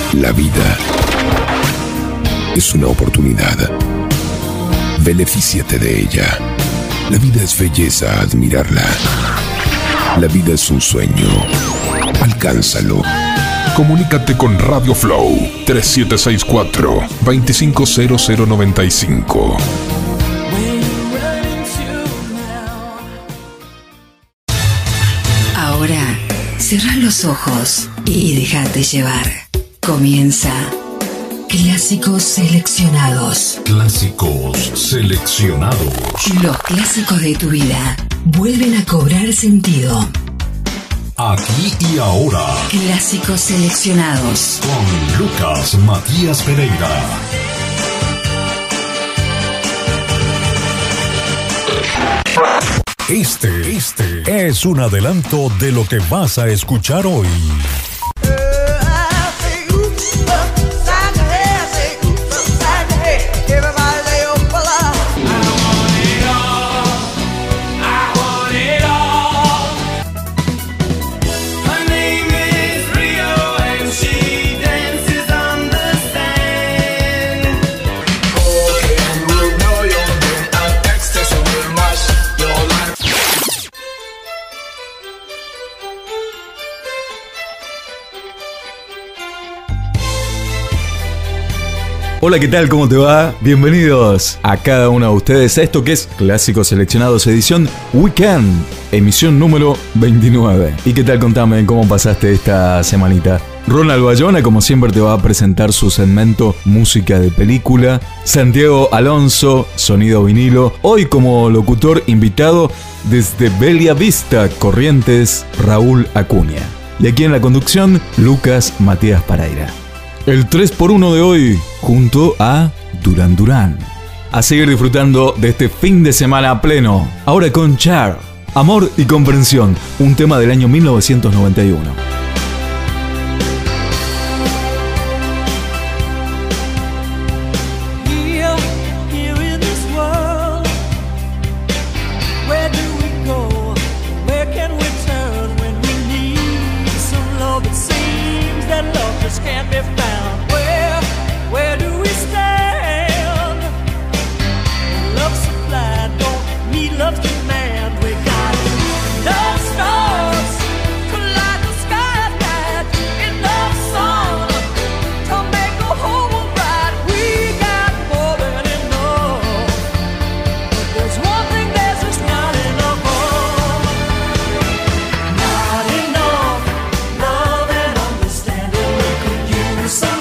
La vida es una oportunidad. Benefíciate de ella. La vida es belleza, admirarla. La vida es un sueño. Alcánzalo. Comunícate con Radio Flow 3764-250095. Ahora, cerrá los ojos y déjate llevar. Comienza Clásicos Seleccionados. Clásicos Seleccionados. Los clásicos de tu vida vuelven a cobrar sentido. Aquí y ahora. Clásicos Seleccionados. Con Lucas Matías Pereira. Este es un adelanto de lo que vas a escuchar hoy. Hola, ¿qué tal? ¿Cómo te va? Bienvenidos a cada uno de ustedes a esto que es Clásicos Seleccionados edición Weekend, emisión número 29. ¿Y qué tal? Contame cómo pasaste esta semanita. Ronald Bayona, como siempre, te va a presentar su segmento Música de Película. Santiago Alonso, Sonido Vinilo. Hoy como locutor invitado desde Bella Vista, Corrientes, Raúl Acuña. Y aquí en la conducción, Lucas Matías Pereira. El 3x1 de hoy, junto a Duran Duran. A seguir disfrutando de este fin de semana a pleno. Ahora con Cher, Amor y Comprensión, un tema del año 1991. Some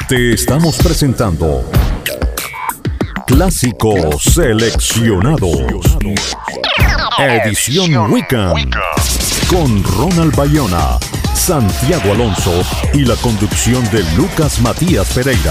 Te estamos presentando Clásicos Seleccionados, edición Weekend, con Ronald Bayona, Santiago Alonso y la conducción de Lucas Matías Pereira.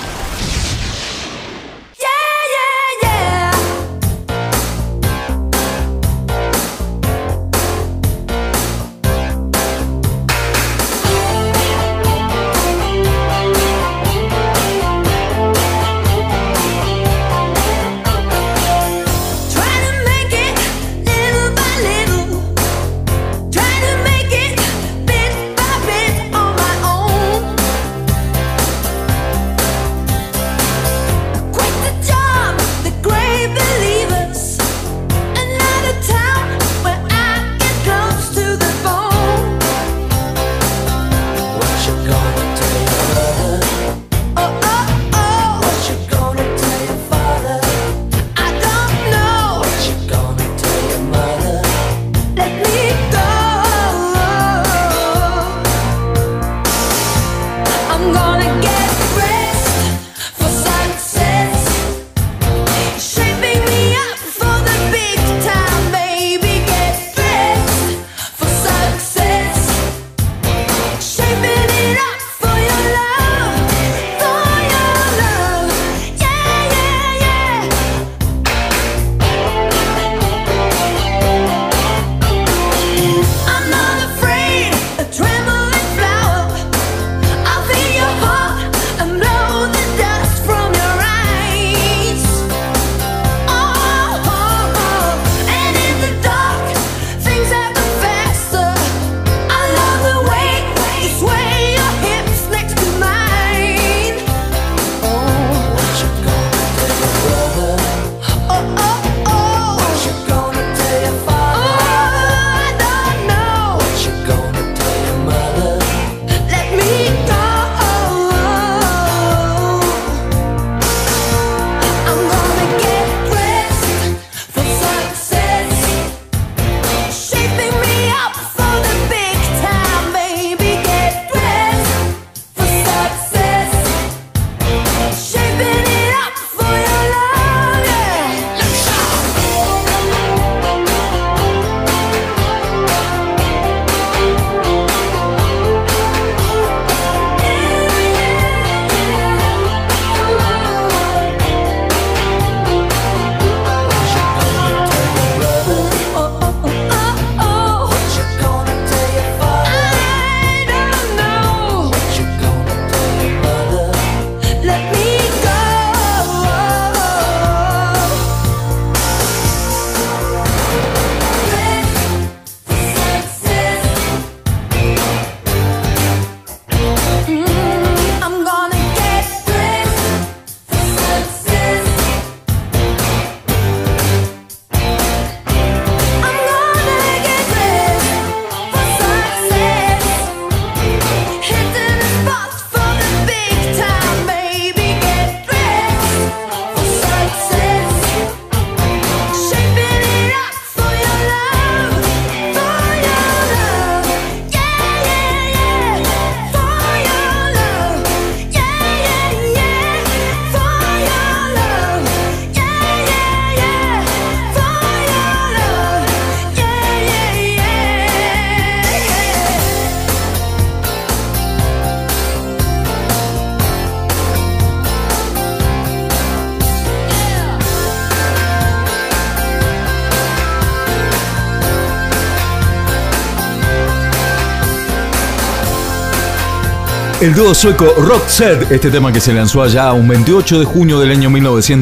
El dúo sueco Roxette, este tema que se lanzó allá un 28 de junio del año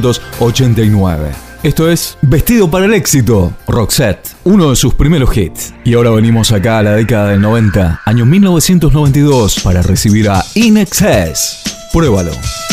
1989. Esto es Vestido para el Éxito, Roxette, uno de sus primeros hits. Y ahora venimos acá a la década del 90, año 1992, para recibir a In Excess. Pruébalo.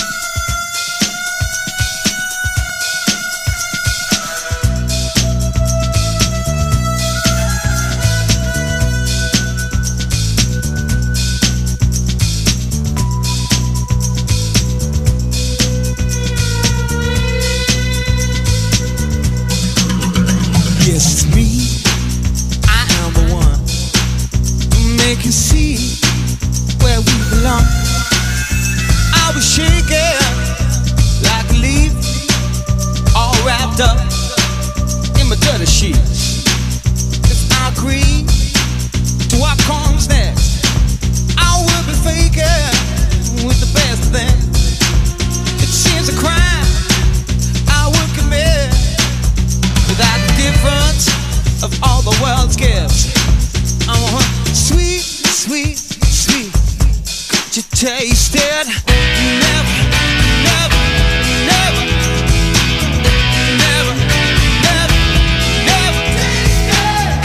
Yes, it's me. I am the one to make you see where we belong. I I'll be shaking like a leaf, all wrapped up in my dirty sheets. If I agree to what comes next, I will be faking with the best of them. It seems a crime I will commit without the difference of all the world's gifts. I want sweet, sweet, sweet. Could you taste it? Never, never, never, never, never, never taste it.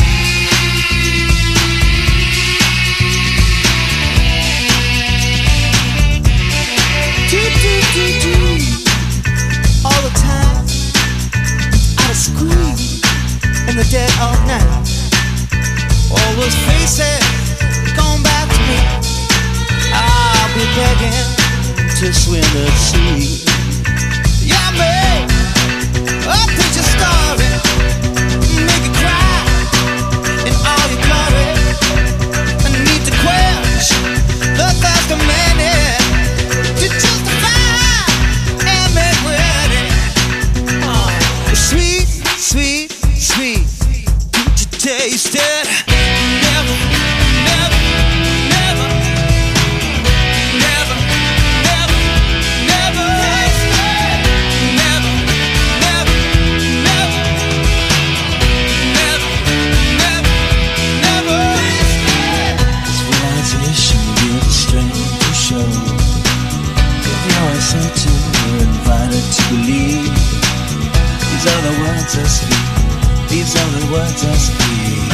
Do, do, do, do. All the time, out of school, in the dead of night. All those faces come back to me. I'll be begging to swim the sea. Yeah, babe, I'll put your story, make it cry in all your glory. I need to quench the thirst of many to justify and make ready. Oh, sweet, sweet, sweet. Could you taste it? Never, never, never, never, never, never taste it. Never, never, never, never, never, never taste it. This realization gives the strength to show. If you're certain, you're invited to believe. These are the words I speak. These are the words I speak.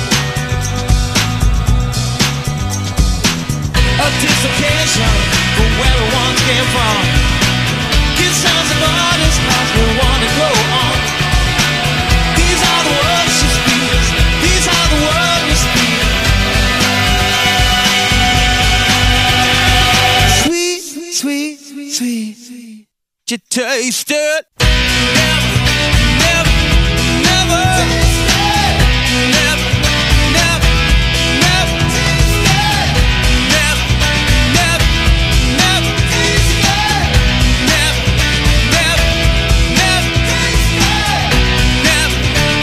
A dislocation from where we once came from. Kiss sons and daughters as we want to go on. These are the words she speaks. These are the words we speak. Sweet, sweet, sweet, sweet. You taste it. Never, never, never taste it. Never, never, never taste it. Never, never, never taste it. Never, never, never taste it. Never,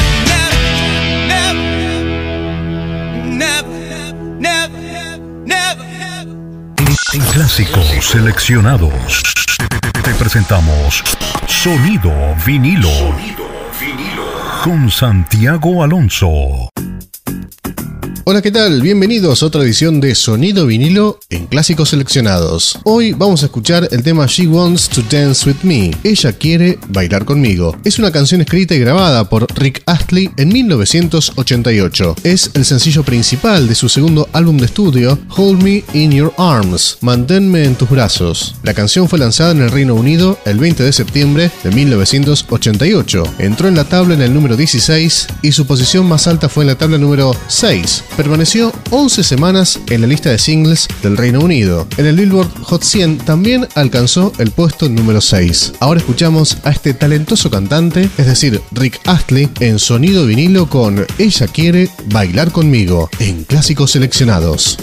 never, never, never, never. En Clásicos Seleccionados te presentamos Sonido Vinilo con Santiago Alonso. Hola, ¿qué tal? Bienvenidos a otra edición de Sonido Vinilo en Clásicos Seleccionados. Hoy vamos a escuchar el tema She Wants to Dance With Me. Ella quiere bailar conmigo. Es una canción escrita y grabada por Rick Astley en 1988. Es el sencillo principal de su segundo álbum de estudio, Hold Me In Your Arms, Manténme en tus brazos. La canción fue lanzada en el Reino Unido el 20 de septiembre de 1988. Entró en la tabla en el número 16 y su posición más alta fue en la tabla número 6. Permaneció 11 semanas en la lista de singles del Reino Unido. En el Billboard Hot 100 también alcanzó el puesto número 6. Ahora escuchamos a este talentoso cantante, es decir, Rick Astley, en Sonido Vinilo con Ella quiere bailar conmigo, en Clásicos Seleccionados.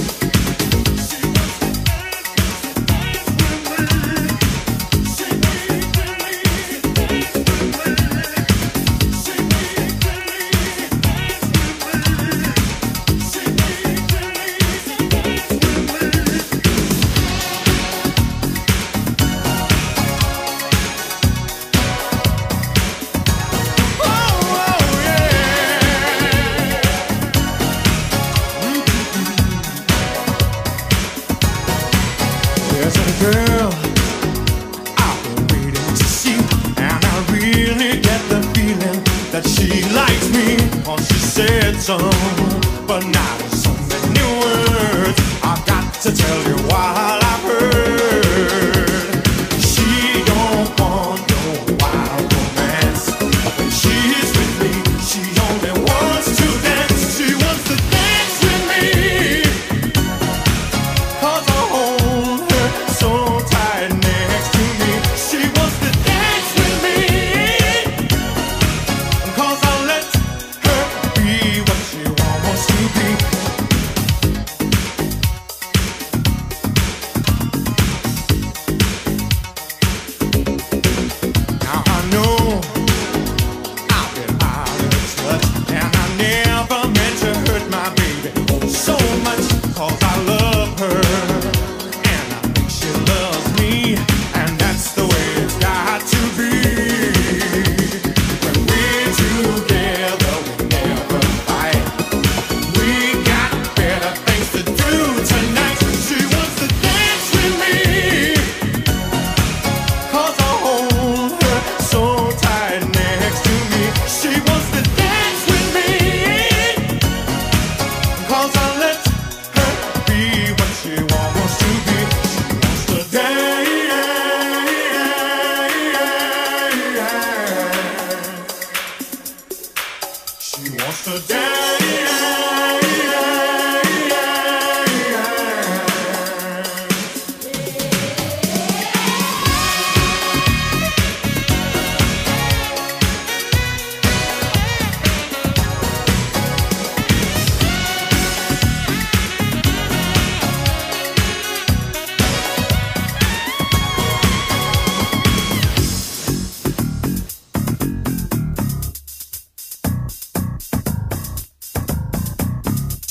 But not in so many words. I've got to tell you what I've heard. She don't want no wild romance. When she's with me, she only wants to dance. She wants to dance with me. 'Cause I hold her so tight next to me. She wants to dance with me. 'Cause I let her be what she wants to be.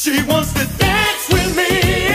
She wants to dance with me.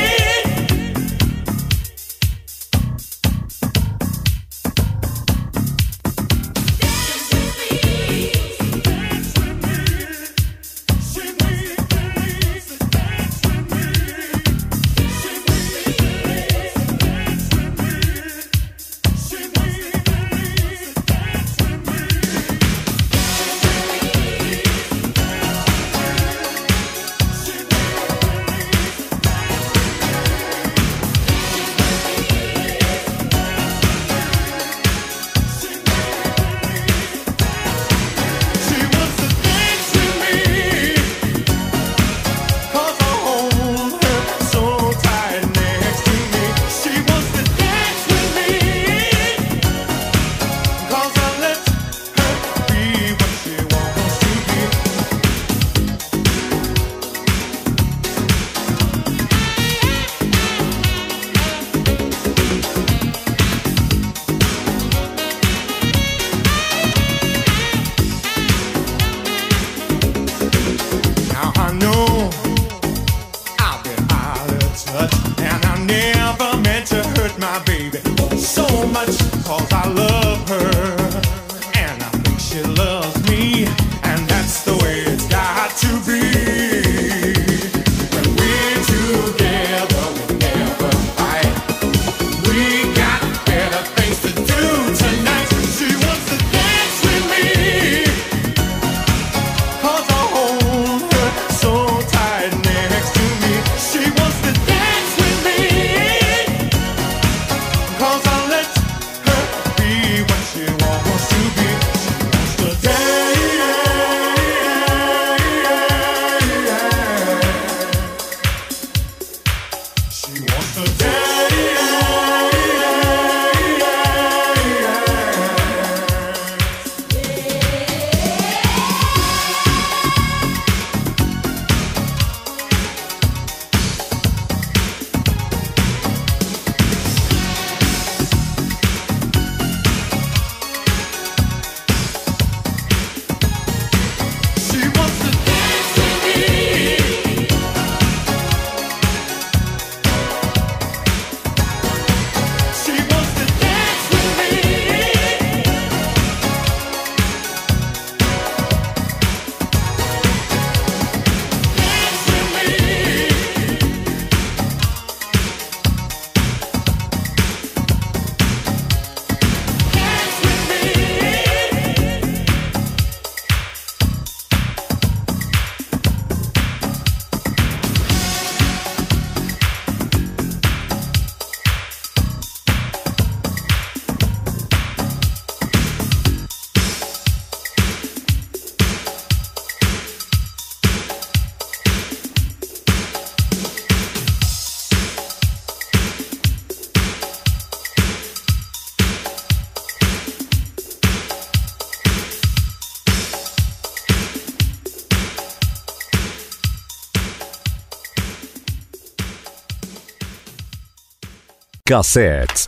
Cassettes,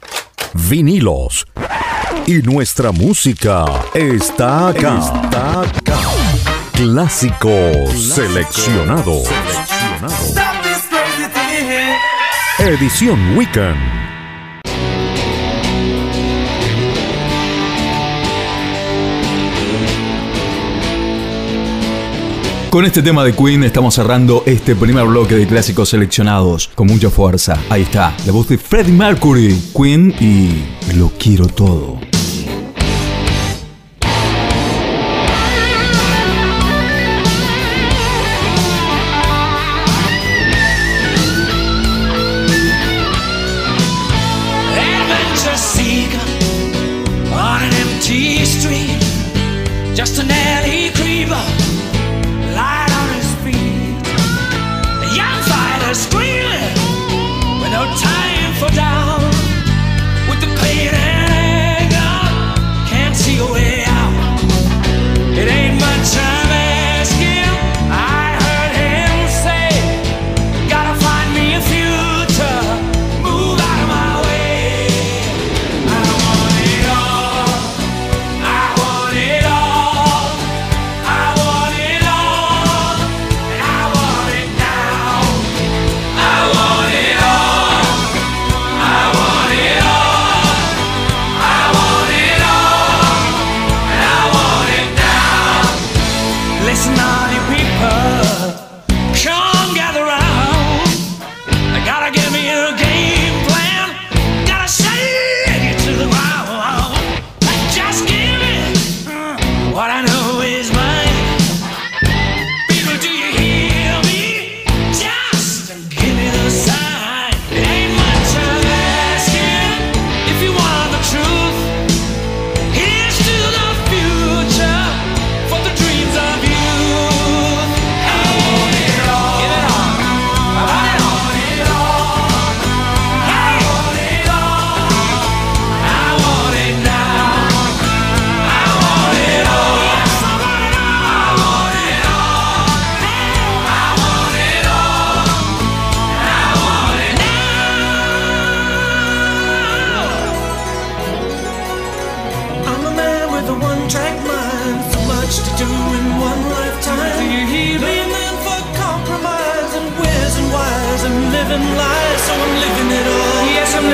vinilos y nuestra música está acá. Clásicos seleccionados. Edición Weekend. Con este tema de Queen estamos cerrando este primer bloque de clásicos seleccionados con mucha fuerza. Ahí está, la voz de Freddie Mercury, Queen y Lo Quiero Todo. Adventure seeker on an empty street, just an alley creeper. Screaming with no time for down, with the pain and anger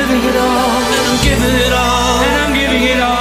giving it all, and I'm giving it all, and I'm giving it all.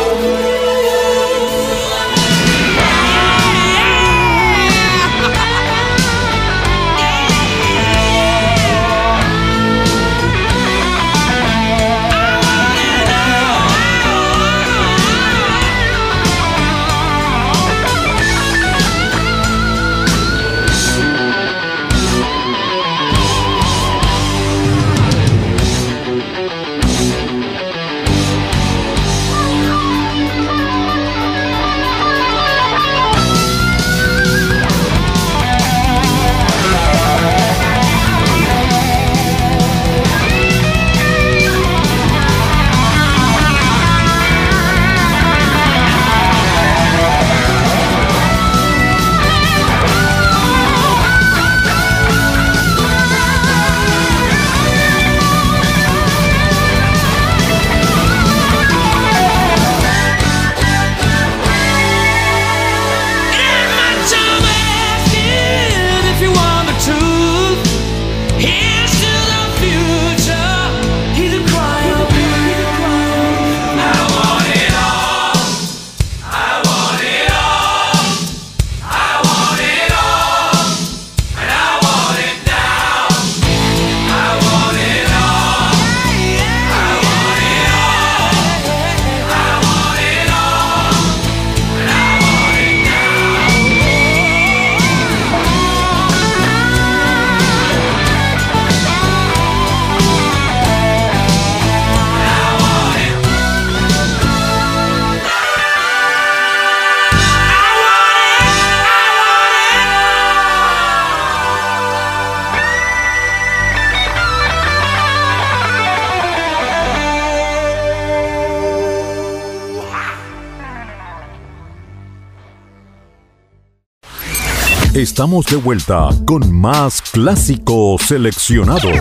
Estamos de vuelta con más clásicos seleccionados.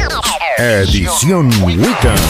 Edición Weekend.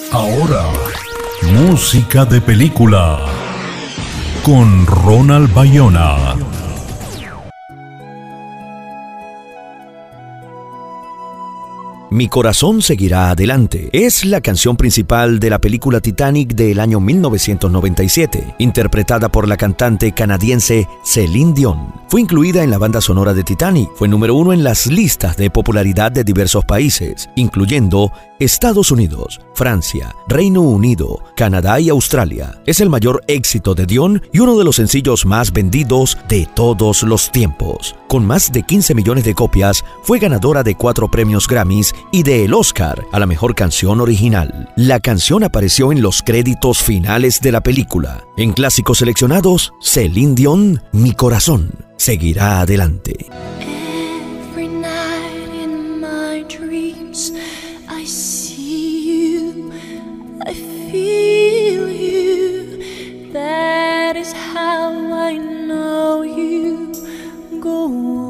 Ahora, música de película con Ronald Bayona. Mi corazón seguirá adelante. Es la canción principal de la película Titanic del año 1997, interpretada por la cantante canadiense Celine Dion. Fue incluida en la banda sonora de Titanic. Fue número 1 en las listas de popularidad de diversos países, incluyendo Estados Unidos, Francia, Reino Unido, Canadá y Australia. Es el mayor éxito de Dion y uno de los sencillos más vendidos de todos los tiempos. Con más de 15 millones de copias, fue ganadora de 4 premios Grammys y del Oscar a la mejor canción original. La canción apareció en los créditos finales de la película. En clásicos seleccionados, Celine Dion, Mi corazón seguirá adelante. Every night in my dreams, I see you, I feel you. That is how I know you. Go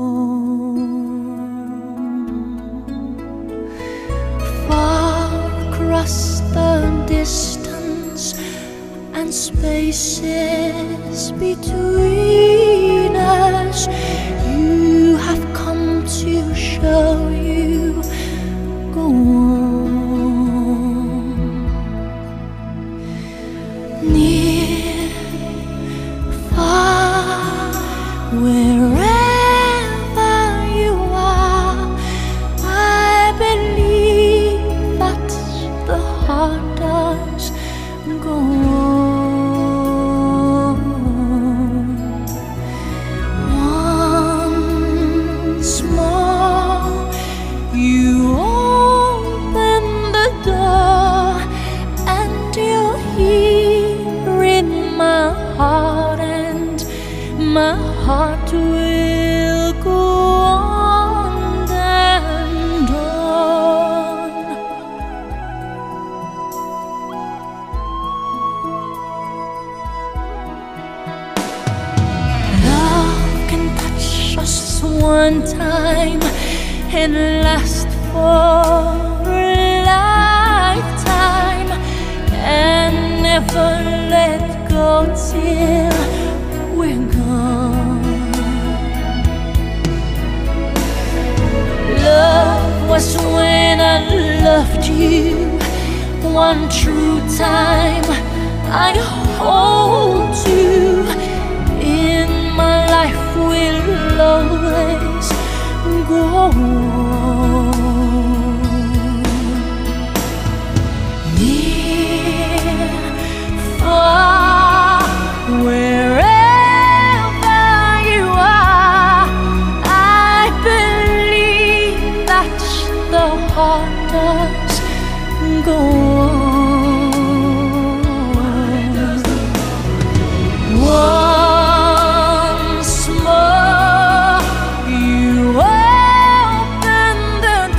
on. Far across the distance and spaces between us, you have come to show you. Go on. Near, far, wherever you are, I believe that the heart does. Go on. Once more, you open the door, and you're here in my heart, and my heart will go on and on. Love can touch us one time and last for a lifetime, and never let go till we're gone. Love was when I loved you one true time. I hold you in my life, will always go on. Near, far, wherever you are, I believe that the heart does go on. Once more, you open the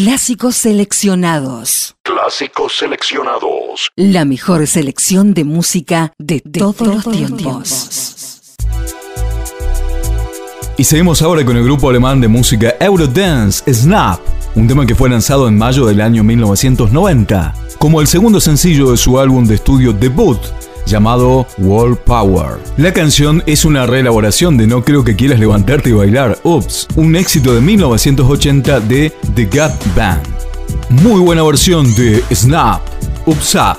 Clásicos seleccionados. Clásicos seleccionados. La mejor selección de música de todos los tiempos. Y seguimos ahora con el grupo alemán de música Eurodance, Snap, un tema que fue lanzado en mayo del año 1990, como el segundo sencillo de su álbum de estudio debut, llamado World Power. La canción es una reelaboración de No creo que quieras levantarte y bailar, Oops, un éxito de 1980 de The Gap Band. Muy buena versión de Snap, Oops Up.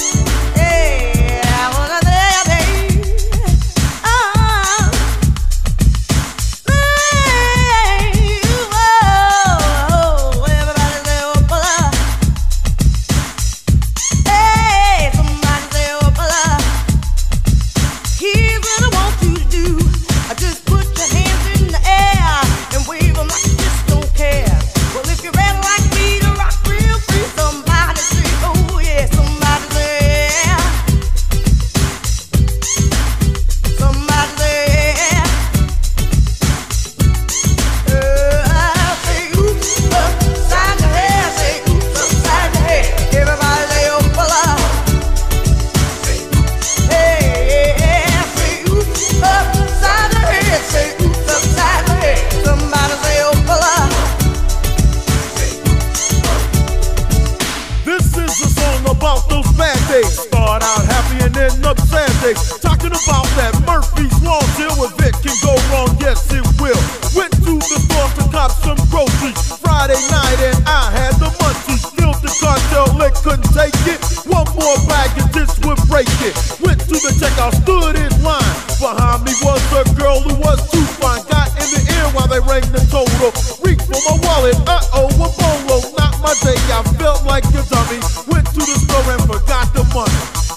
Talking about that Murphy's Law deal with it can go wrong, yes it will. Went to the store to cop some groceries Friday night and I had the munchies. Filled the cartel, it couldn't take it. One more bag and this would break it. Went to the checkout, stood in line. Behind me was a girl who was too fine. Got in the ear while they rang the total. Reached for my wallet, uh-oh, a bolo. Not my day, I felt like a dummy. Went to the store and forgot the money.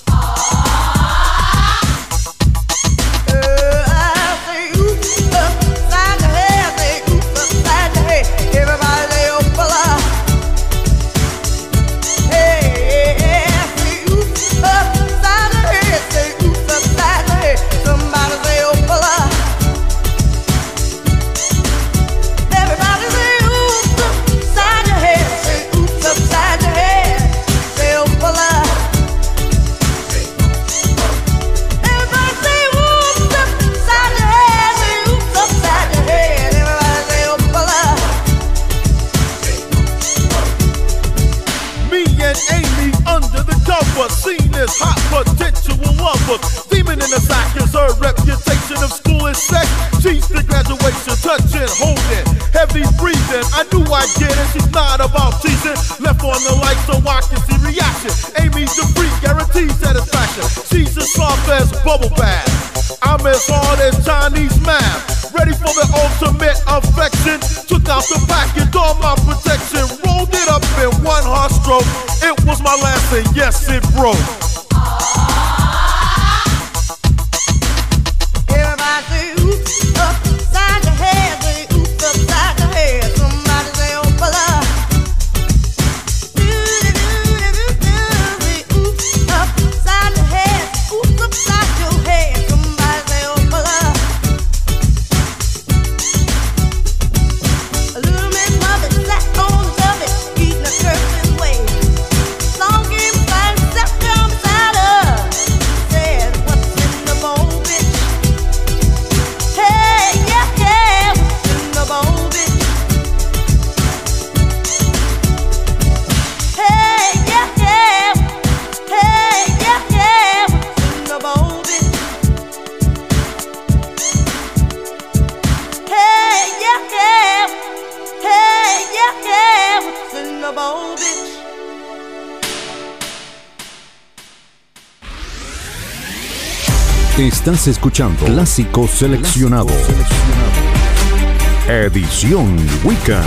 Seen as hot potential lovers. Demon in the sack is her reputation of school and sex. She's the graduation, touching, holding, heavy breathing. I knew I'd get it, she's not about teasing. Left on the light so I can see reaction. Amy Dupree guarantees satisfaction. She's as soft as bubble bath. I'm as hard as Chinese math. Ready for the ultimate affection. Took out the package, all my protection. Rolled it up in one hard stroke. It was my last and yes it broke. Everybody say oops upside your head, say oops upside your head. Somebody say oh bala. Say oops upside your head, oops upside your head. Somebody say oh bala. A little Miss Muffet sat on the tubbit, eating a curtain way. Long game beside himself down beside her. Said, what's in the bowl, bitch? Hey, yeah, yeah, what's in the bowl, bitch? Hey, yeah, yeah, hey, yeah, yeah, what's in the bowl, bitch? Hey, yeah, yeah, hey, yeah, yeah, what's in the bowl, bitch? Estás escuchando Clásicos Seleccionados. Edición Weekend.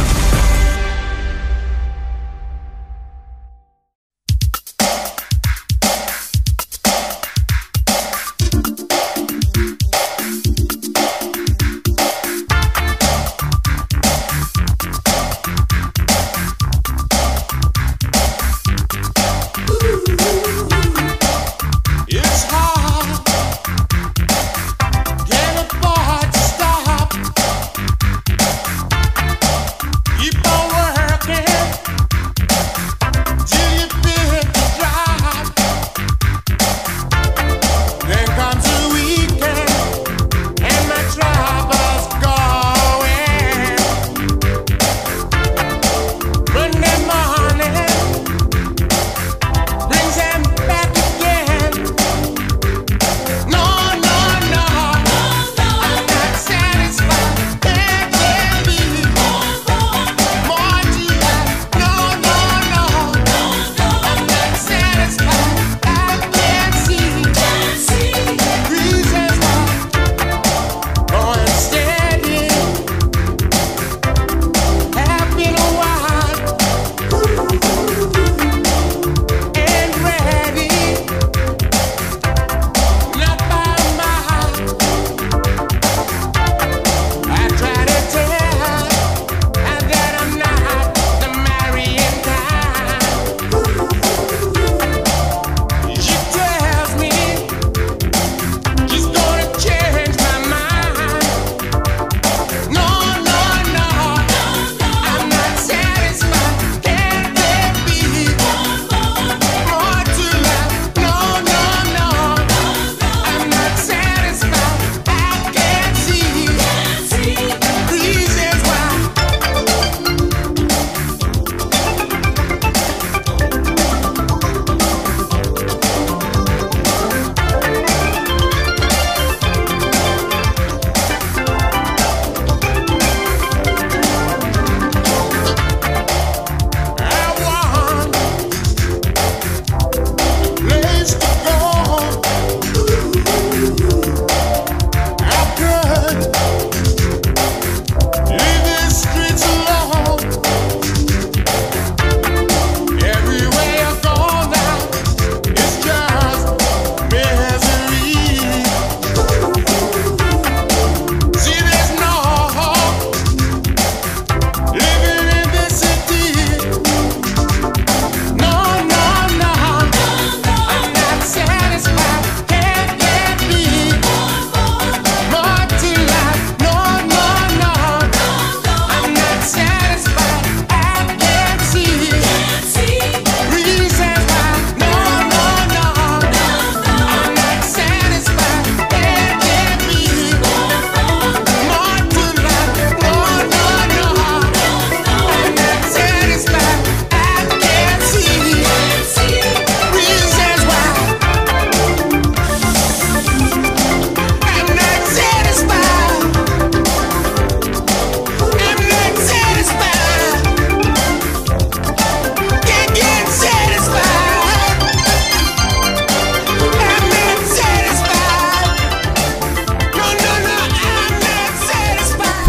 It's hard, get a bar to stop.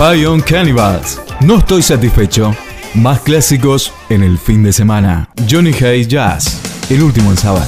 Vampire Cannibals. No estoy satisfecho. Más clásicos en el fin de semana. Johnny Hayes Jazz. El último en saber.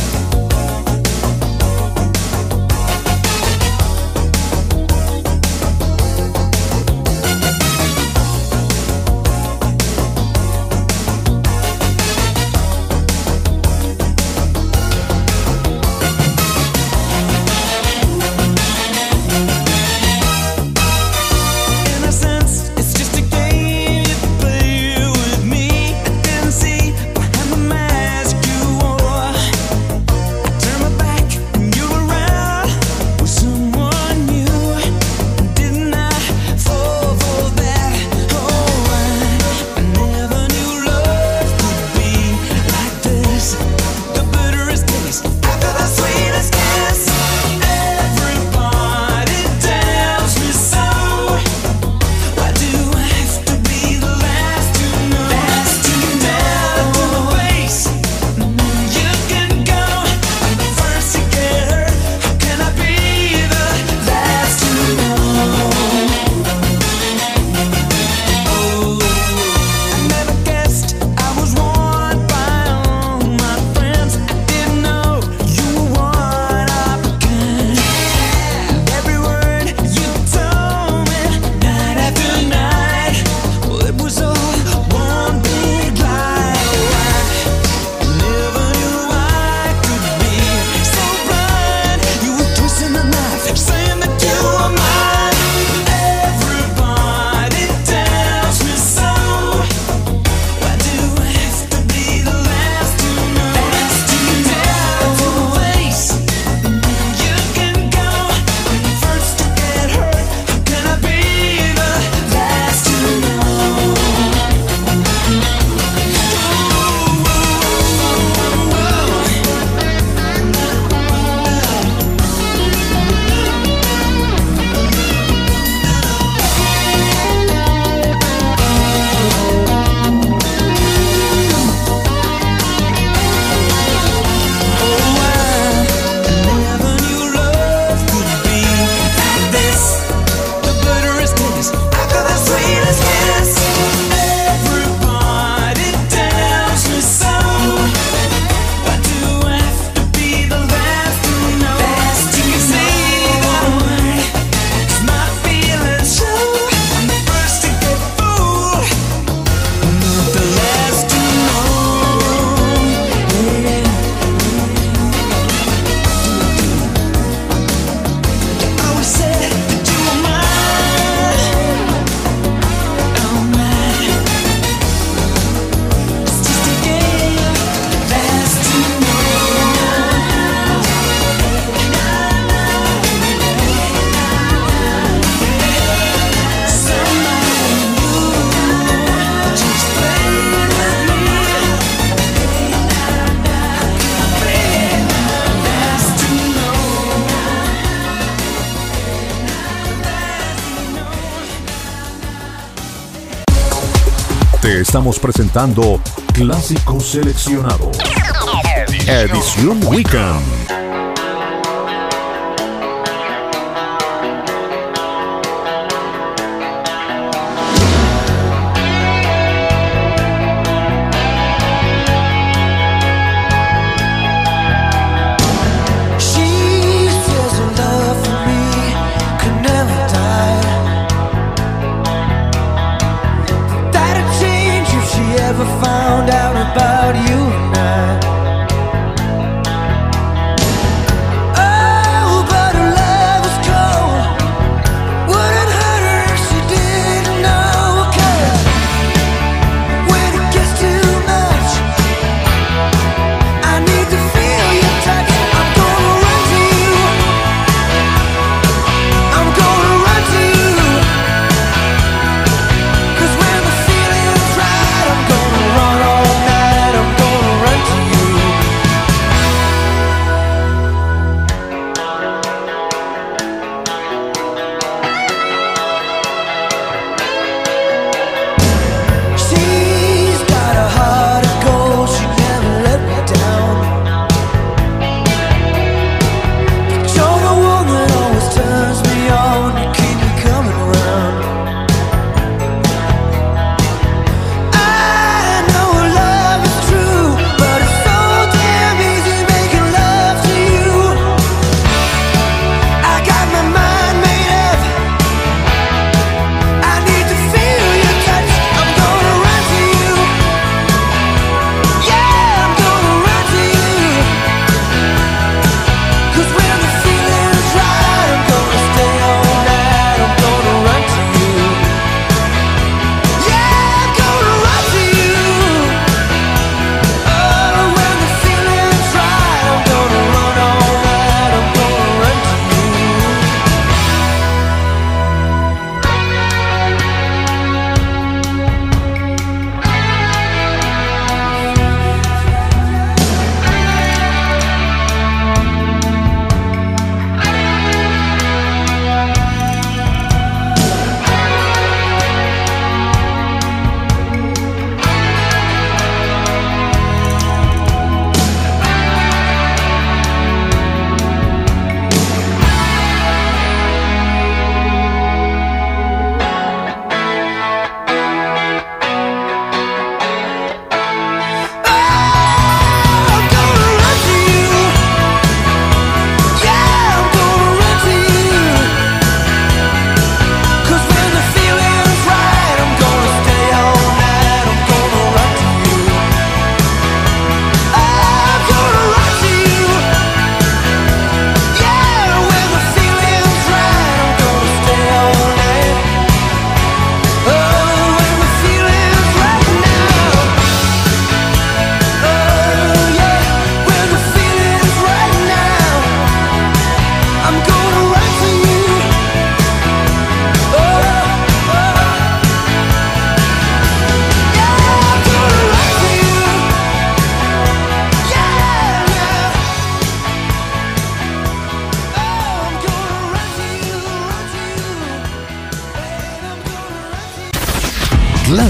Te estamos presentando Clásicos Seleccionados. Edición Weekend. Found out about you and I.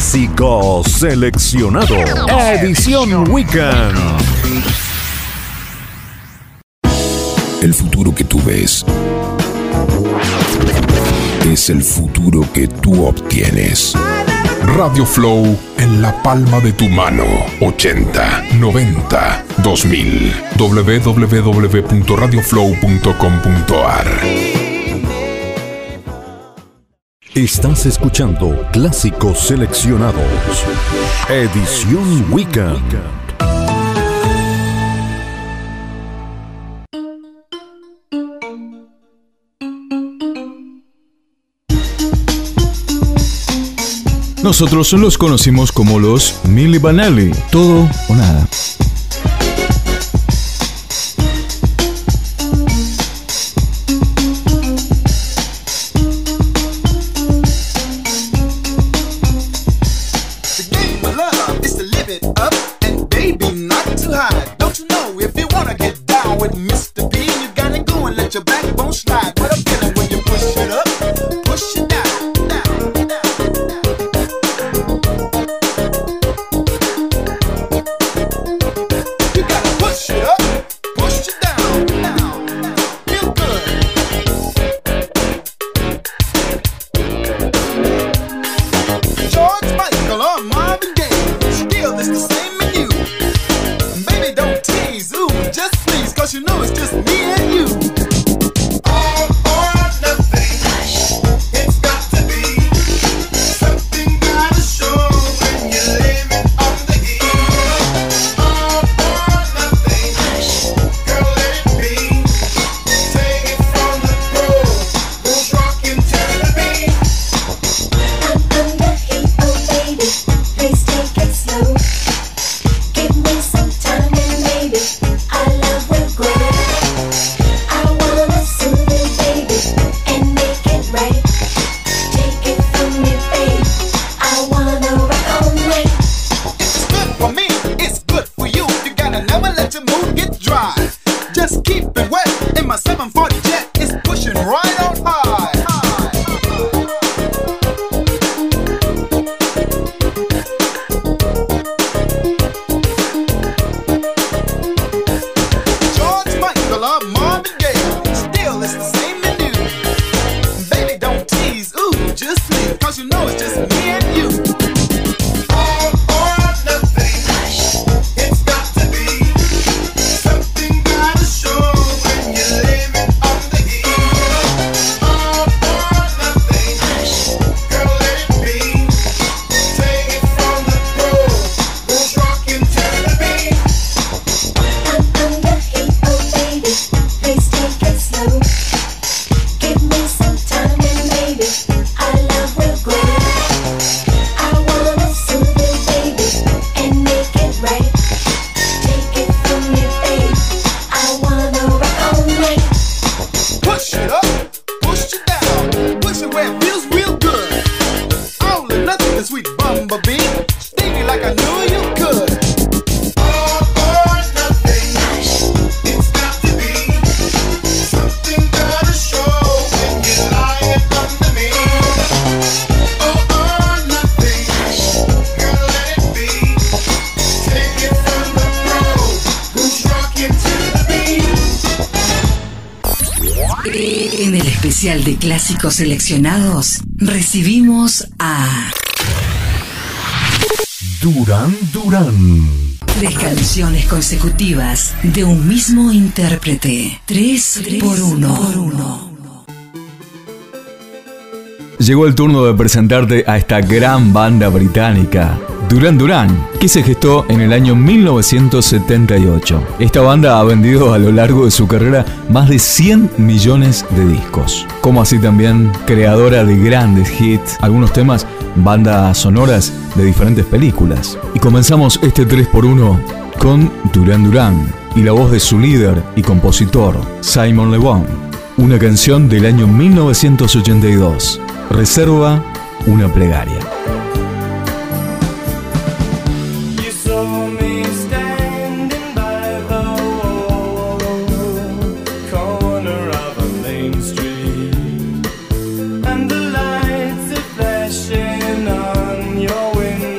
Clásico seleccionado. Edición Weekend. El futuro que tú ves es el futuro que tú obtienes. Radio Flow en la palma de tu mano. 80, 90, 2000. www.radioflow.com.ar. Estás escuchando Clásicos Seleccionados. Edición Weekend. Nosotros los conocimos como los Milli Vanilli, todo o nada. En el especial de Clásicos Seleccionados recibimos a Duran Duran. 3 canciones consecutivas de un mismo intérprete. 3 por 1. Llegó el turno de presentarte a esta gran banda británica, Duran Duran, que se gestó en el año 1978. Esta banda ha vendido a lo largo de su carrera más de 100 millones de discos, como así también creadora de grandes hits, algunos temas, bandas sonoras de diferentes películas. Y comenzamos este 3x1 con Duran Duran y la voz de su líder y compositor, Simon Le Bon, una canción del año 1982. Reserva una plegaria. And the lights are flashing on your window.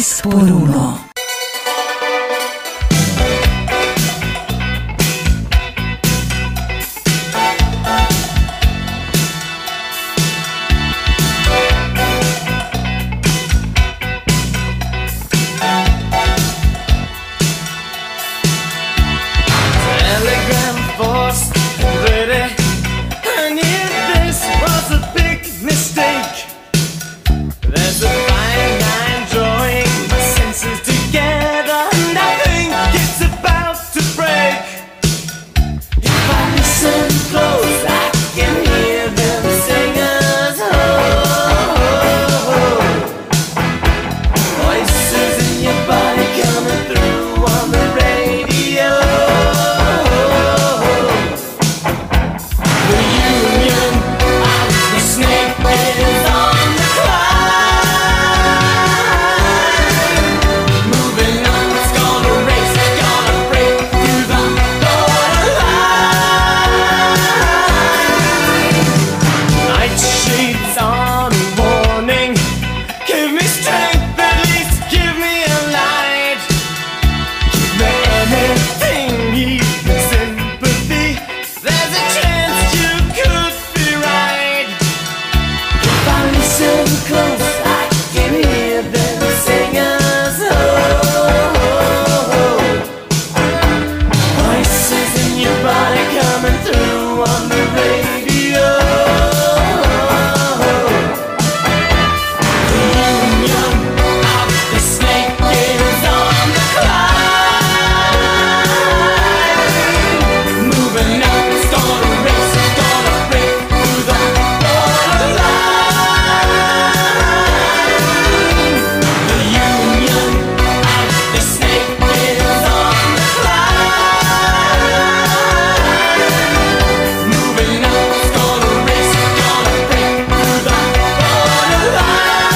3x1. Telegram force ready. I knew this was a big mistake. There's a fine line drawing my senses together, and I think it's about to break. If I listen close, I can hear them sing us home. Voices in your body coming through on the radio. The union of the snake is on the climb. Moving on, it's gonna race, it's gonna break through the borderline. Night shades on warning. Give me strength, at least give me a light. Give me anything, even sympathy. There's a chance you could be right. If I listen close, I can hear them sing us home. Voices in your body coming through on the radio. The union of the snake is on the climb. Moving up, it's gonna race, it's gonna break through the borderline. The union of the snake is on the climb. Moving up, it's gonna race, it's gonna break through the borderline.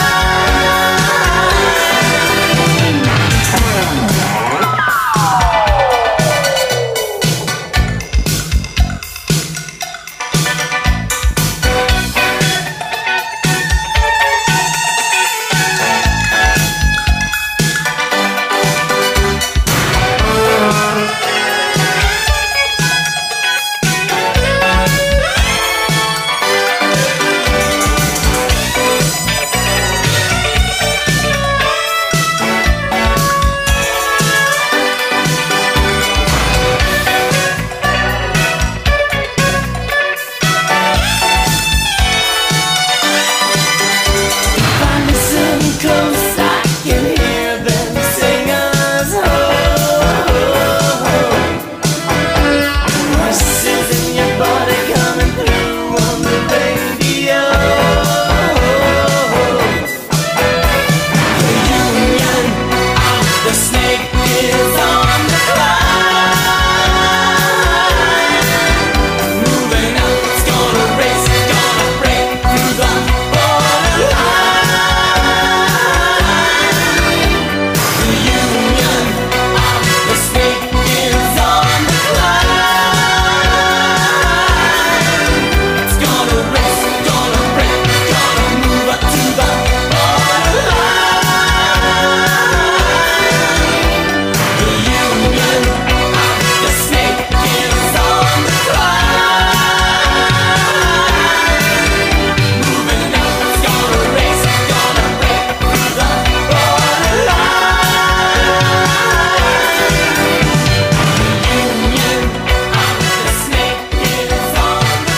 If I listen close, I can hear them sing us home. Voices in your body coming through on the radio. The union of the snake is on the climb. Moving up, it's gonna race, it's gonna break through the borderline. The union of the snake is on the climb. It's gonna race, it's gonna break, it's gonna move up to the borderline. The union of the snake is on the climb. Moving up, it's gonna race, it's gonna break through the borderline. The union of the snake is on the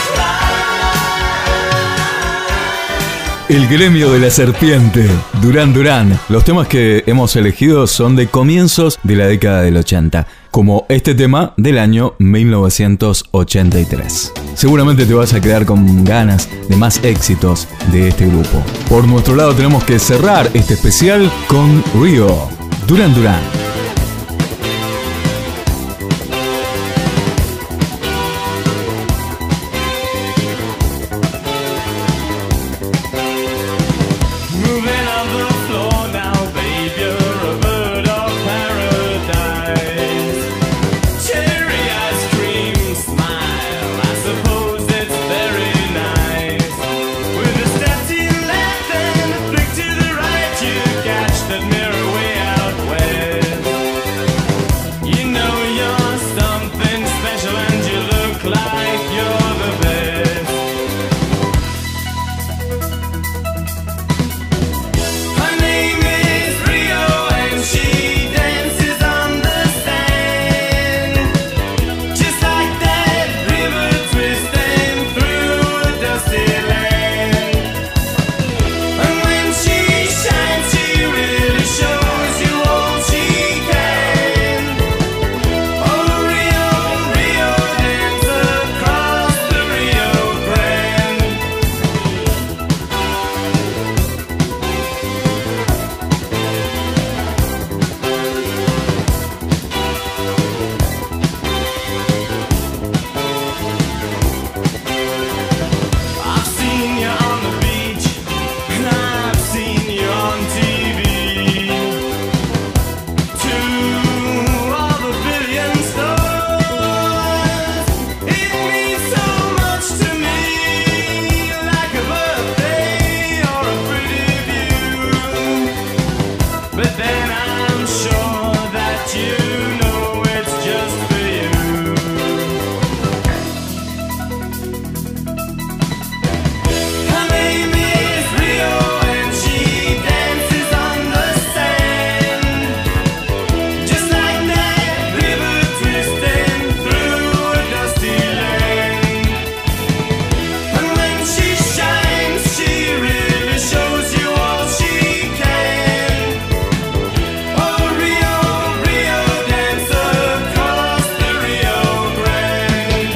climb. El gremio de la serpiente, Duran Duran. Los temas que hemos elegido son de comienzos de la década del 80, como este tema del año 1983. Seguramente te vas a quedar con ganas de más éxitos de este grupo. Por nuestro lado tenemos que cerrar este especial con Rio, Duran Duran. Moving on the floor now, babe, you're a bird of paradise. Cherry ice cream smile, I suppose it's very nice. With a step to your left and a flick to the right, you catch that mirror wave. dusty land. And when she shines, she really shows you all she can. Oh, Rio, Rio, dance across the Rio Grande. I've seen you on the beach, and I've seen you on TV. To all the billion stars, it means so much to me, like a birthday or a pretty view. But then I'm sure that you know it's just for you. Her name is Rio, and she dances on the sand, just like that river twisting through a dusty land. And when she shines, she really shows you all she can. Oh, Rio, Rio, dance across the Rio Grande.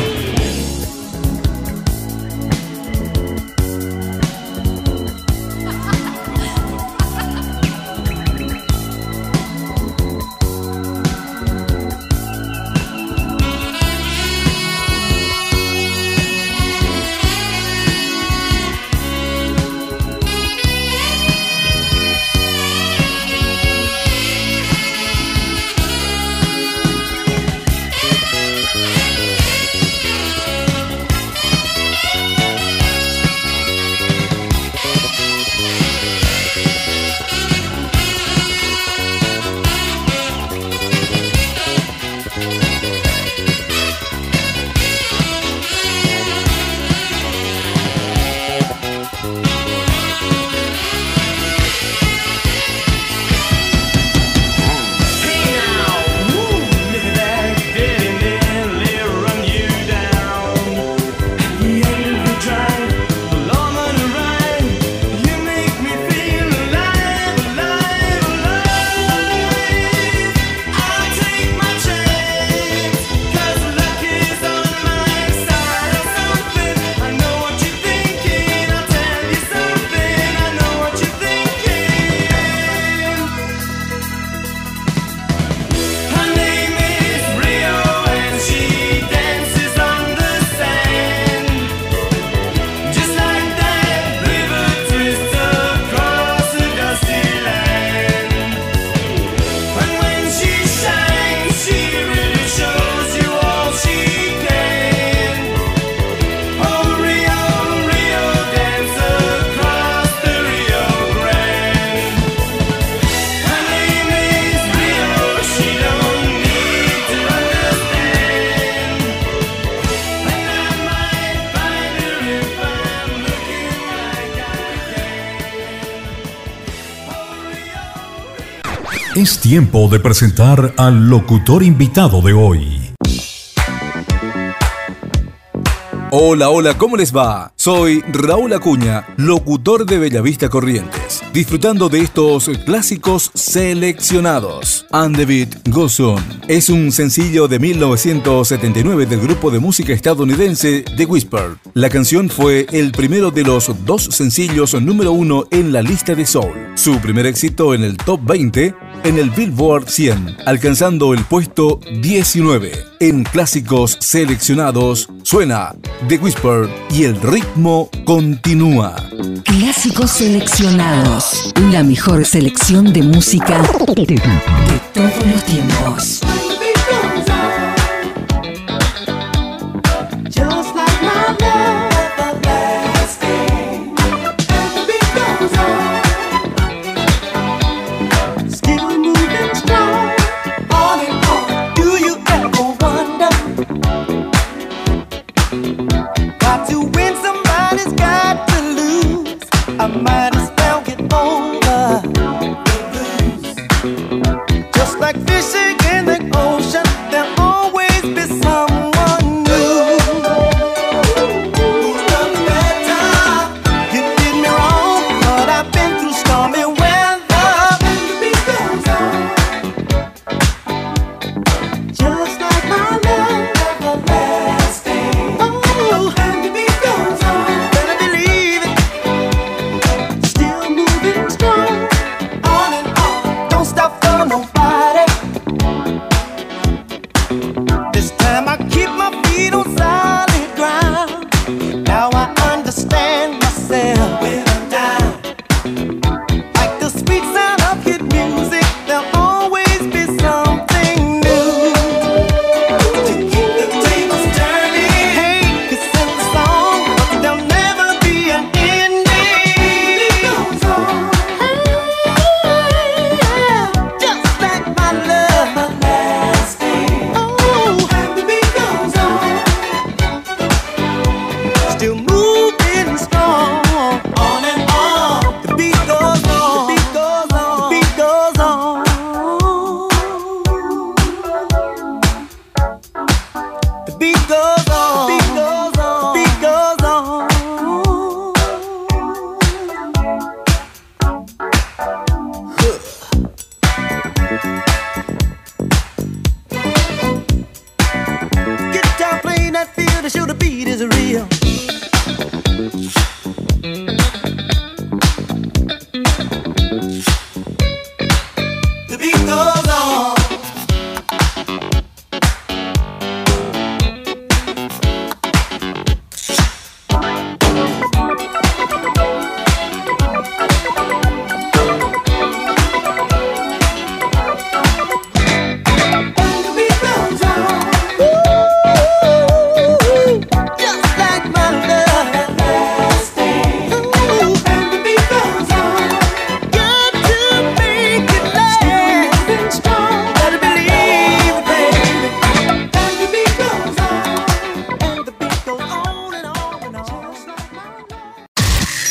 Hey now, woo, look at that, Daddy nearly run you down. At the end of the drive, along on a ride, you make me feel alive, alive, alive. I'll take my chance, 'cause luck is on my side or something. I know what you're thinking, I'll tell you something. I know what you're thinking. Her name is Rio, and she dances on the sand, just like that river twists across a dusty land. And when she shines, she really shows you all she can. Oh, Rio, Rio, dance across the Rio Grande. Her name is Rio, she don't need to understand. And I might find her if I'm looking like I can. Es tiempo de presentar al locutor invitado de hoy. Hola, hola, ¿cómo les va? Soy Raúl Acuña, locutor de Bellavista Corrientes, disfrutando de estos clásicos seleccionados. And the Beat Goes On es un sencillo de 1979 del grupo de música estadounidense The Whisper. La canción fue el primero de los 2 sencillos número 1 en la lista de soul. Su primer éxito en el top 20 en el Billboard 100, alcanzando el puesto 19. En clásicos seleccionados suena The Whisper y el ritmo continúa. Clásicos seleccionados. La mejor selección de música de todos los tiempos. Just like my love everlasting. And the beat goes on. Still moving strong. On and on. Do you ever wonder? Got to win, somebody's got to lose. I might as well get over the blues. Just like fishing in the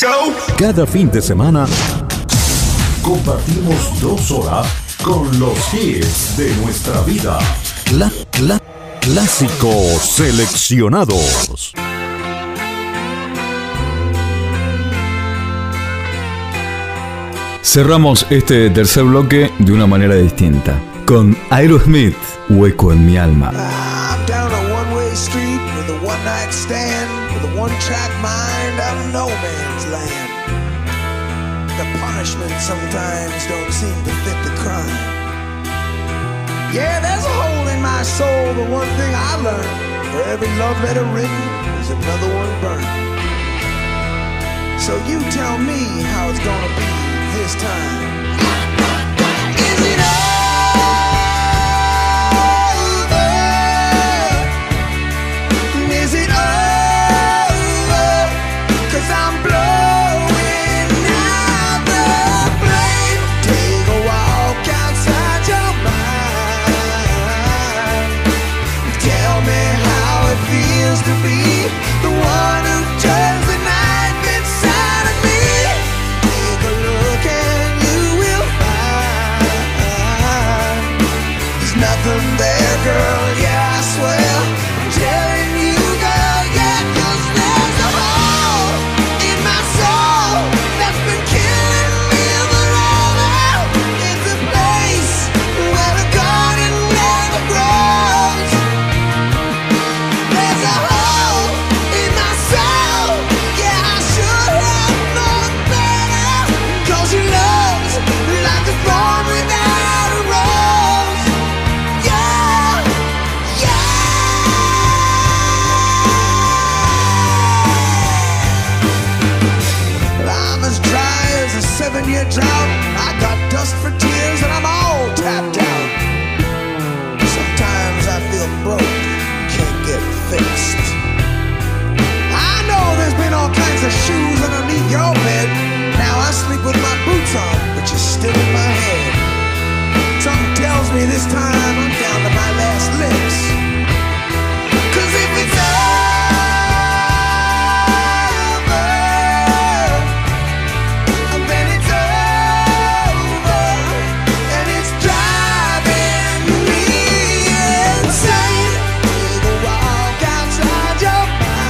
go. Cada fin de semana compartimos 2 horas con los hits de nuestra vida. Clásicos seleccionados. Cerramos este tercer bloque de una manera distinta, con Aerosmith, Hueco en mi alma. I'm down a one-way street with a one-night stand, with a one-track mind out of no man's land. The punishment sometimes don't seem to fit the crime. Yeah, there's a hole in my soul, but one thing I learned, for every love letter written, there's another one burned. So you tell me how it's gonna be this time. Is it over? Is it over? 'Cause I'm blowing out the flame. Take a walk outside your mind. Tell me how it feels to be the one who turns the knife inside of me. Take a look and you will find there's nothing there, girl, yeah, I swear. I'm telling you, girl, yeah, 'cause there's a hole in my soul that's been killing me forever. It's a place where the garden never grows. There's a hole in my soul, yeah, I should have known better. 'Cause your love's like a thorn without a rose. Yeah, yeah. I'm as dry as a 7-year drought. I got dust for tears and I'm all tapped out. Sometimes I feel broke, can't get fixed. I know there's been all kinds of shoes underneath your bed. Now I sleep with my boots on, but you're still in my head. Something tells me this time I'm down to my last licks. 'Cause if it's over, then it's over, and it's driving me insane. Take a walk outside your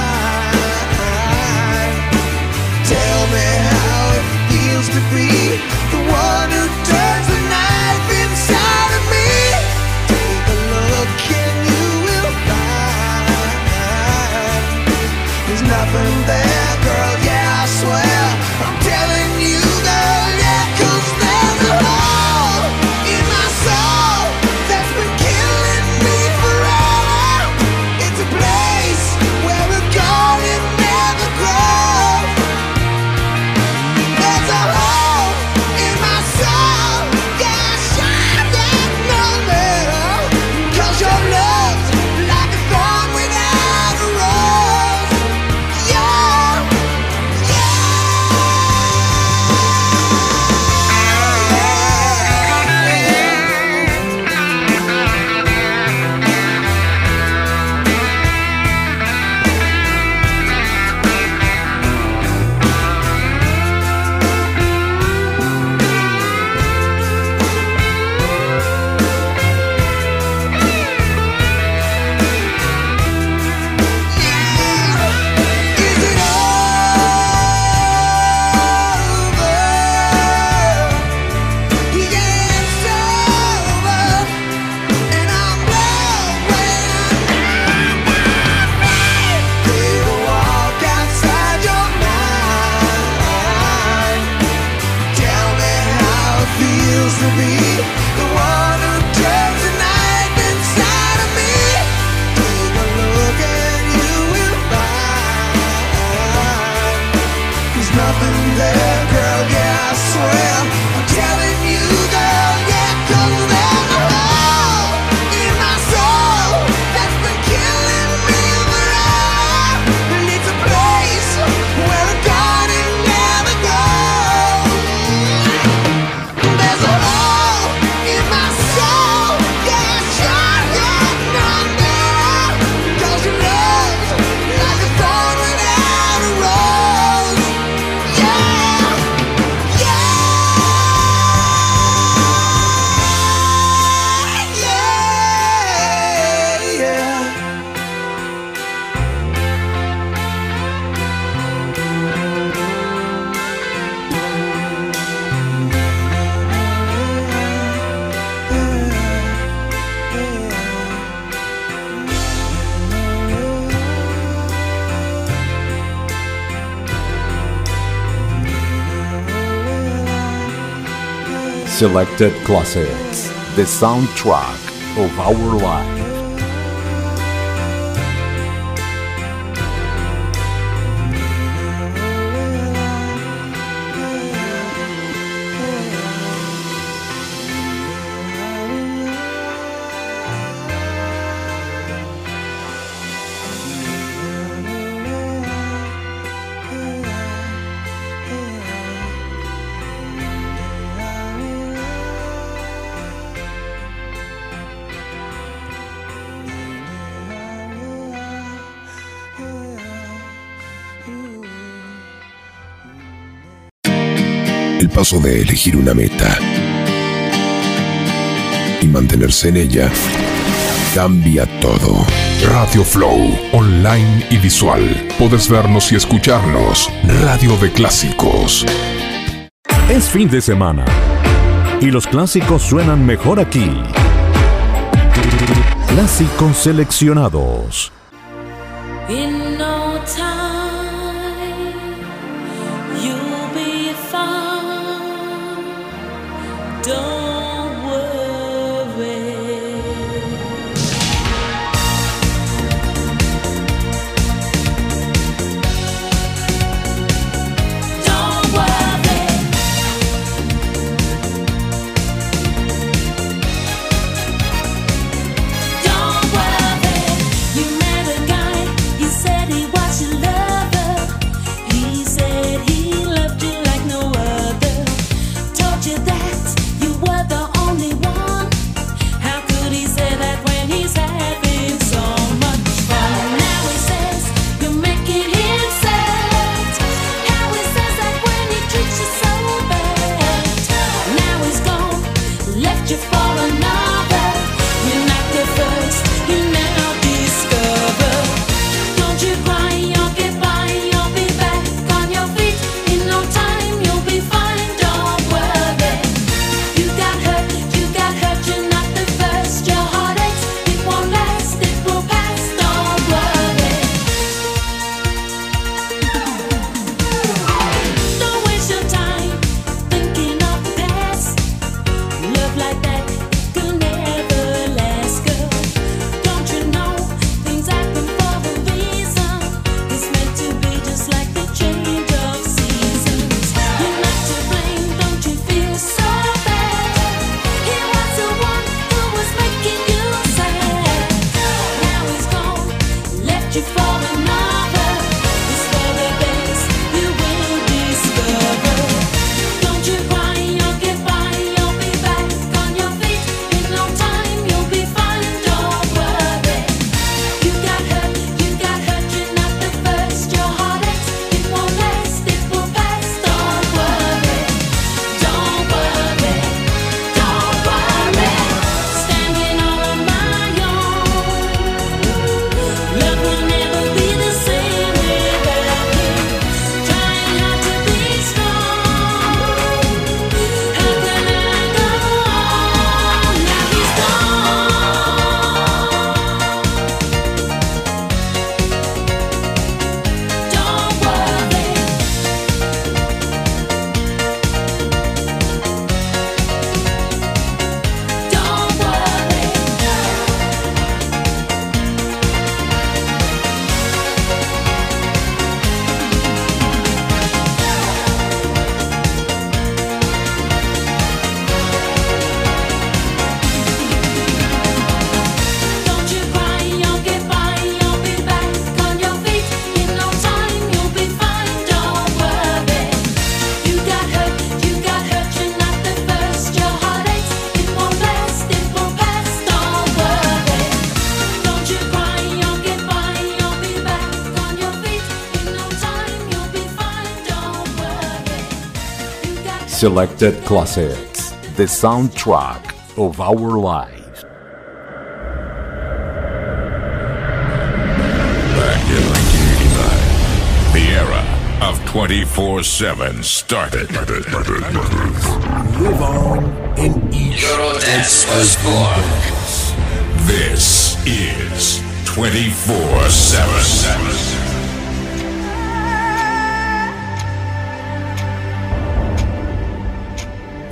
mind. Tell me how it feels to be the one who turns the knife inside of me. Take a look and you will find there's nothing there, girl, yeah, I swear. I'm telling you, girl, yeah, 'cause there's a hole in my soul that's been killing me forever. It's a place where the garden never grows. There's a hole in my soul, yeah, I should have known better. 'Cause your love's like a thorn without a rose. Yeah, is it over? Yeah, it's over, and I'm blowing. Take a walk outside your mind. Tell me how it feels to be the one who turns the knife inside of me. Take a look and you will find there's nothing there, girl, yeah, I swear. I'm telling you, girl, yeah, 'cause there's a hole in my soul that's been killing me forever. And it's a place where the garden never grows. There's a hole in my soul, yeah, I should have known better. 'Cause your love's like a thorn without a rose. Yeah. Selected Classics, the soundtrack of our life. El paso de elegir una meta y mantenerse en ella cambia todo. Radio Flow, online y visual. Podés vernos y escucharnos. Radio de clásicos. Es fin de semana y los clásicos suenan mejor aquí. Clásicos seleccionados. In no time, you'll be fine. Don't worry. Don't worry. Don't worry. You met a guy. He said he was your lover. He said he loved you like no other. Told you that you were the only one. How could he say that when he's having so much fun? Now he says you're making him sad. How he says that when he treats you so bad. Now he's gone, left you for another. You're not the first, you now discover. Don't you cry, you'll get by, you'll be back on your feet. In no time, you'll be fine, don't worry. You got hurt, you're not the first. Your heart aches, it won't last, it will pass, don't worry. Don't waste your time thinking of the past. Love like that could never last, girl. Don't you know things happen for a reason? It's meant to be just like the change of seasons. You're not to blame, don't you feel so bad? He was the one who was making you sad. Now he's gone, left you for another. It's for the best, you will discover. Don't you cry, you'll get by, you'll be back on your feet. In no time, you'll be fine, don't worry. You got hurt, you're not the first. Your heart aches, it won't last, it will pass, don't worry. Don't worry, don't worry. Standing all on my own. Love will never be the same without him. Trying hard to be strong. How can I go on? Now he's gone. Don't worry. Don't worry. Don't you cry, you'll get by, you'll be back on your feet. In no time, you'll be fine, don't worry. You got hurt, you're not the first. Your heart aches, it won't last, it will pass, don't worry. Don't you cry, you'll get by, you'll be back on your feet. In no time, you'll be fine, don't worry. You got Selected Classics, the soundtrack of our life. Back in 1989, the era of 24/7 started. Live on in each This is 24/7.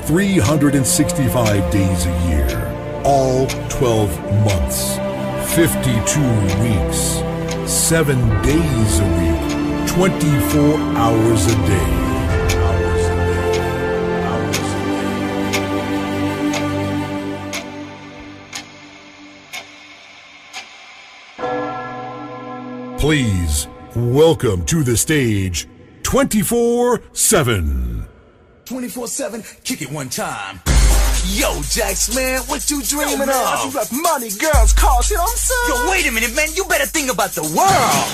365 days a year, all 12 months, 52 weeks, 7 days a week, 24 hours a day. Please welcome to the stage 24/7. 24/7, kick it one time. Yo, Jax, man, what you dreaming of? You got money, girls, cars, you know what I'm saying? Yo, wait a minute, man, you better think about the world.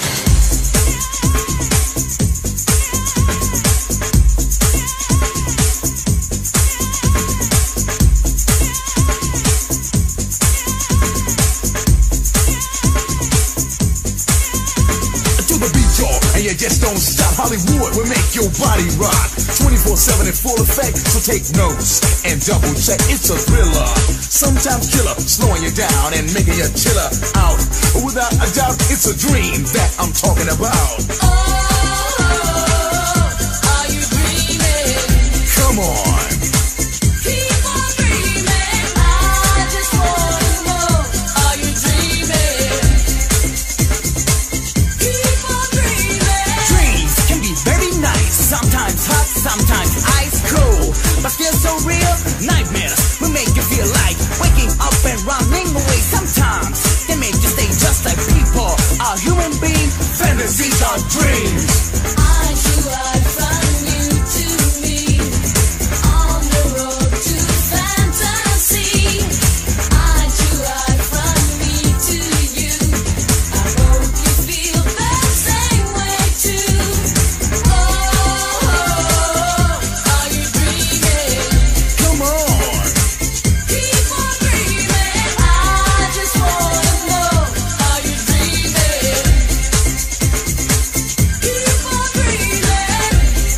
And you just don't stop. Hollywood will make your body rock. 24/7 in full effect, so take notes and double check. It's a thriller, sometimes killer, slowing you down and making you chiller out. Without a doubt, it's a dream that I'm talking about. Are you dreaming? Come on. Keep on dreaming. I just wanna know. Are you dreaming? Keep on dreaming. Dreams can be very nice, sometimes hot, sometimes ice cold, but still so real. Nightmares will make you feel like waking up and running away. Sometimes they make you stay just like people are human beings. Fantasies are dreams. I should ride from you to me on the road to fantasy. I should ride from me to you. I hope you feel the same way too. Are you dreaming? Come on. Keep on dreaming. I just wanna know. Are you dreaming? Keep on dreaming.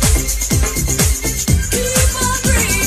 Keep on dreaming.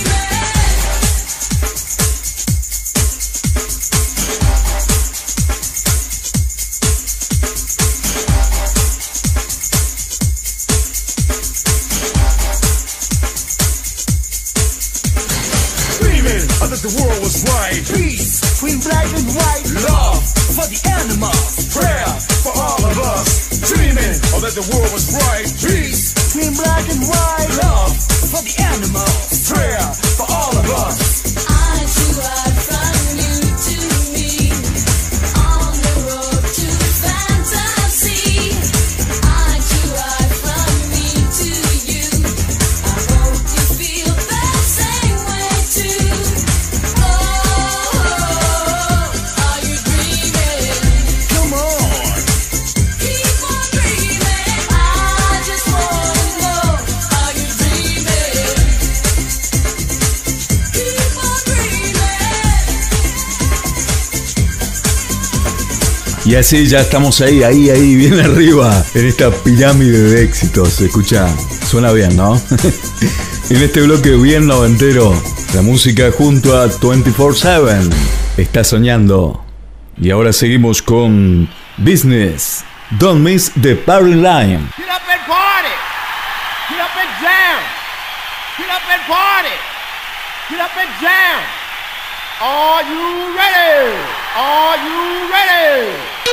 Dreaming that the world was right. Peace between black and white. Love, For the animals. prayer for all of us. Dreaming that the world was right. Peace, Between black and white. love, For the animals. prayer for all of us. I should ride from you to me on the road to fantasy. I should ride from me to you. I hope you feel the same way too. Are you dreaming? Come on. Keep on dreaming. I just wanna know. Are you dreaming? Keep on dreaming. Y así ya estamos ahí, bien arriba, en esta pirámide de éxitos. Escucha, suena bien, ¿no? En este bloque bien noventero, la música junto a 24/7. Está soñando. Y ahora seguimos con Business. Don't miss the party line. Get up and party. Get up and jam. Get up and party. Get up and jam. Are you ready? Are you ready?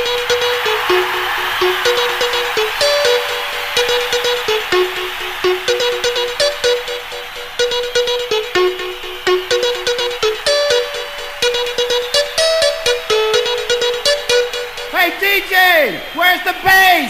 Hey DJ, where's the bass?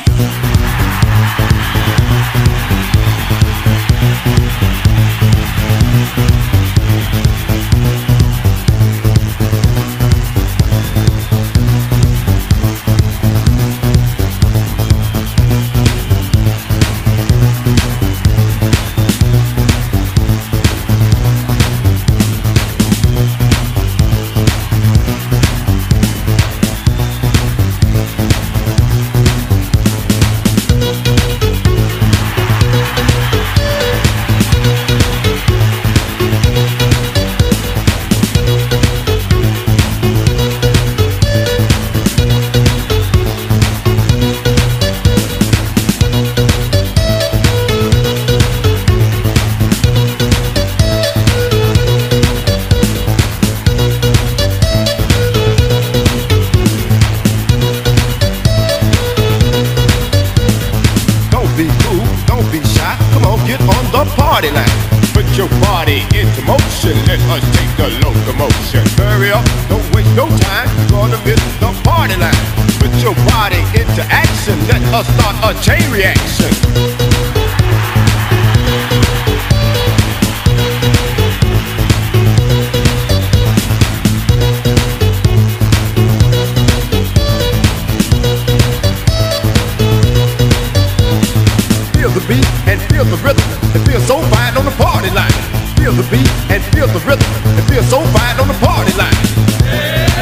come on, get on the party line. Put your body into motion, let us take the locomotion. Hurry up, don't waste no time, you're gonna miss the party line. Put your body into action, let us start a chain reaction. Feel the beat and feel the rhythm. It feels so fine on the party line. Feel the beat and feel the rhythm. It feels so fine on the party line.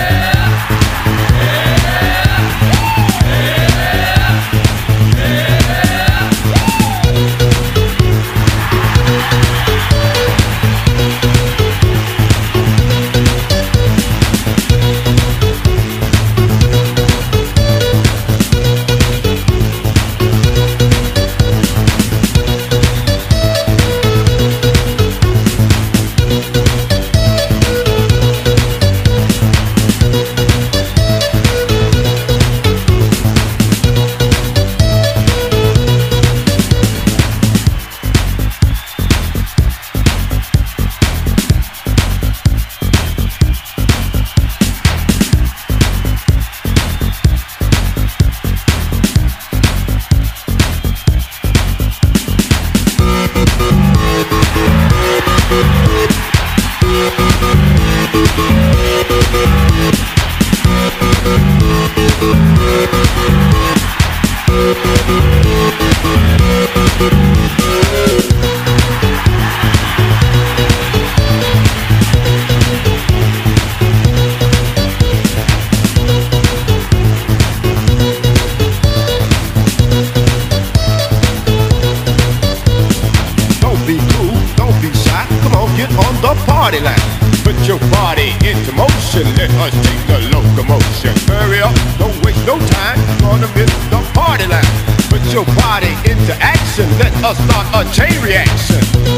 Party line. Put your body into motion, let us take the locomotion. Hurry up, don't waste no time, you're gonna miss the party line. Put your body into action, let us start a chain reaction.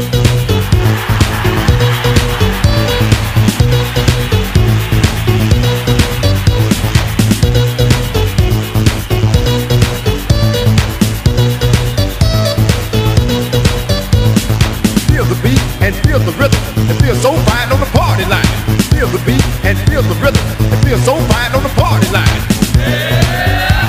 Feel the beat and feel the rhythm. It feels so fine on the party line. Feel the beat and feel the rhythm. It feels so fine on the party line.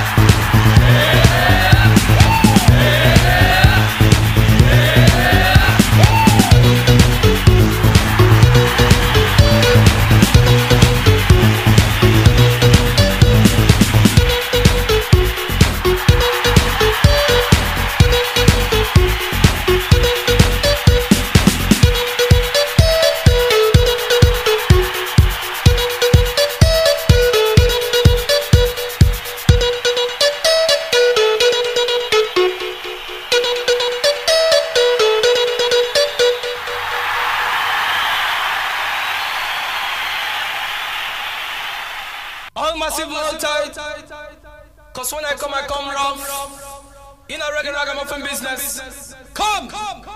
All massive hold tight, cause when I come rough. In a regular ragamuffin business. Come!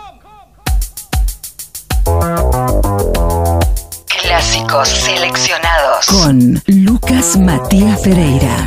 Clásicos seleccionados con Lucas Matías Ferreira.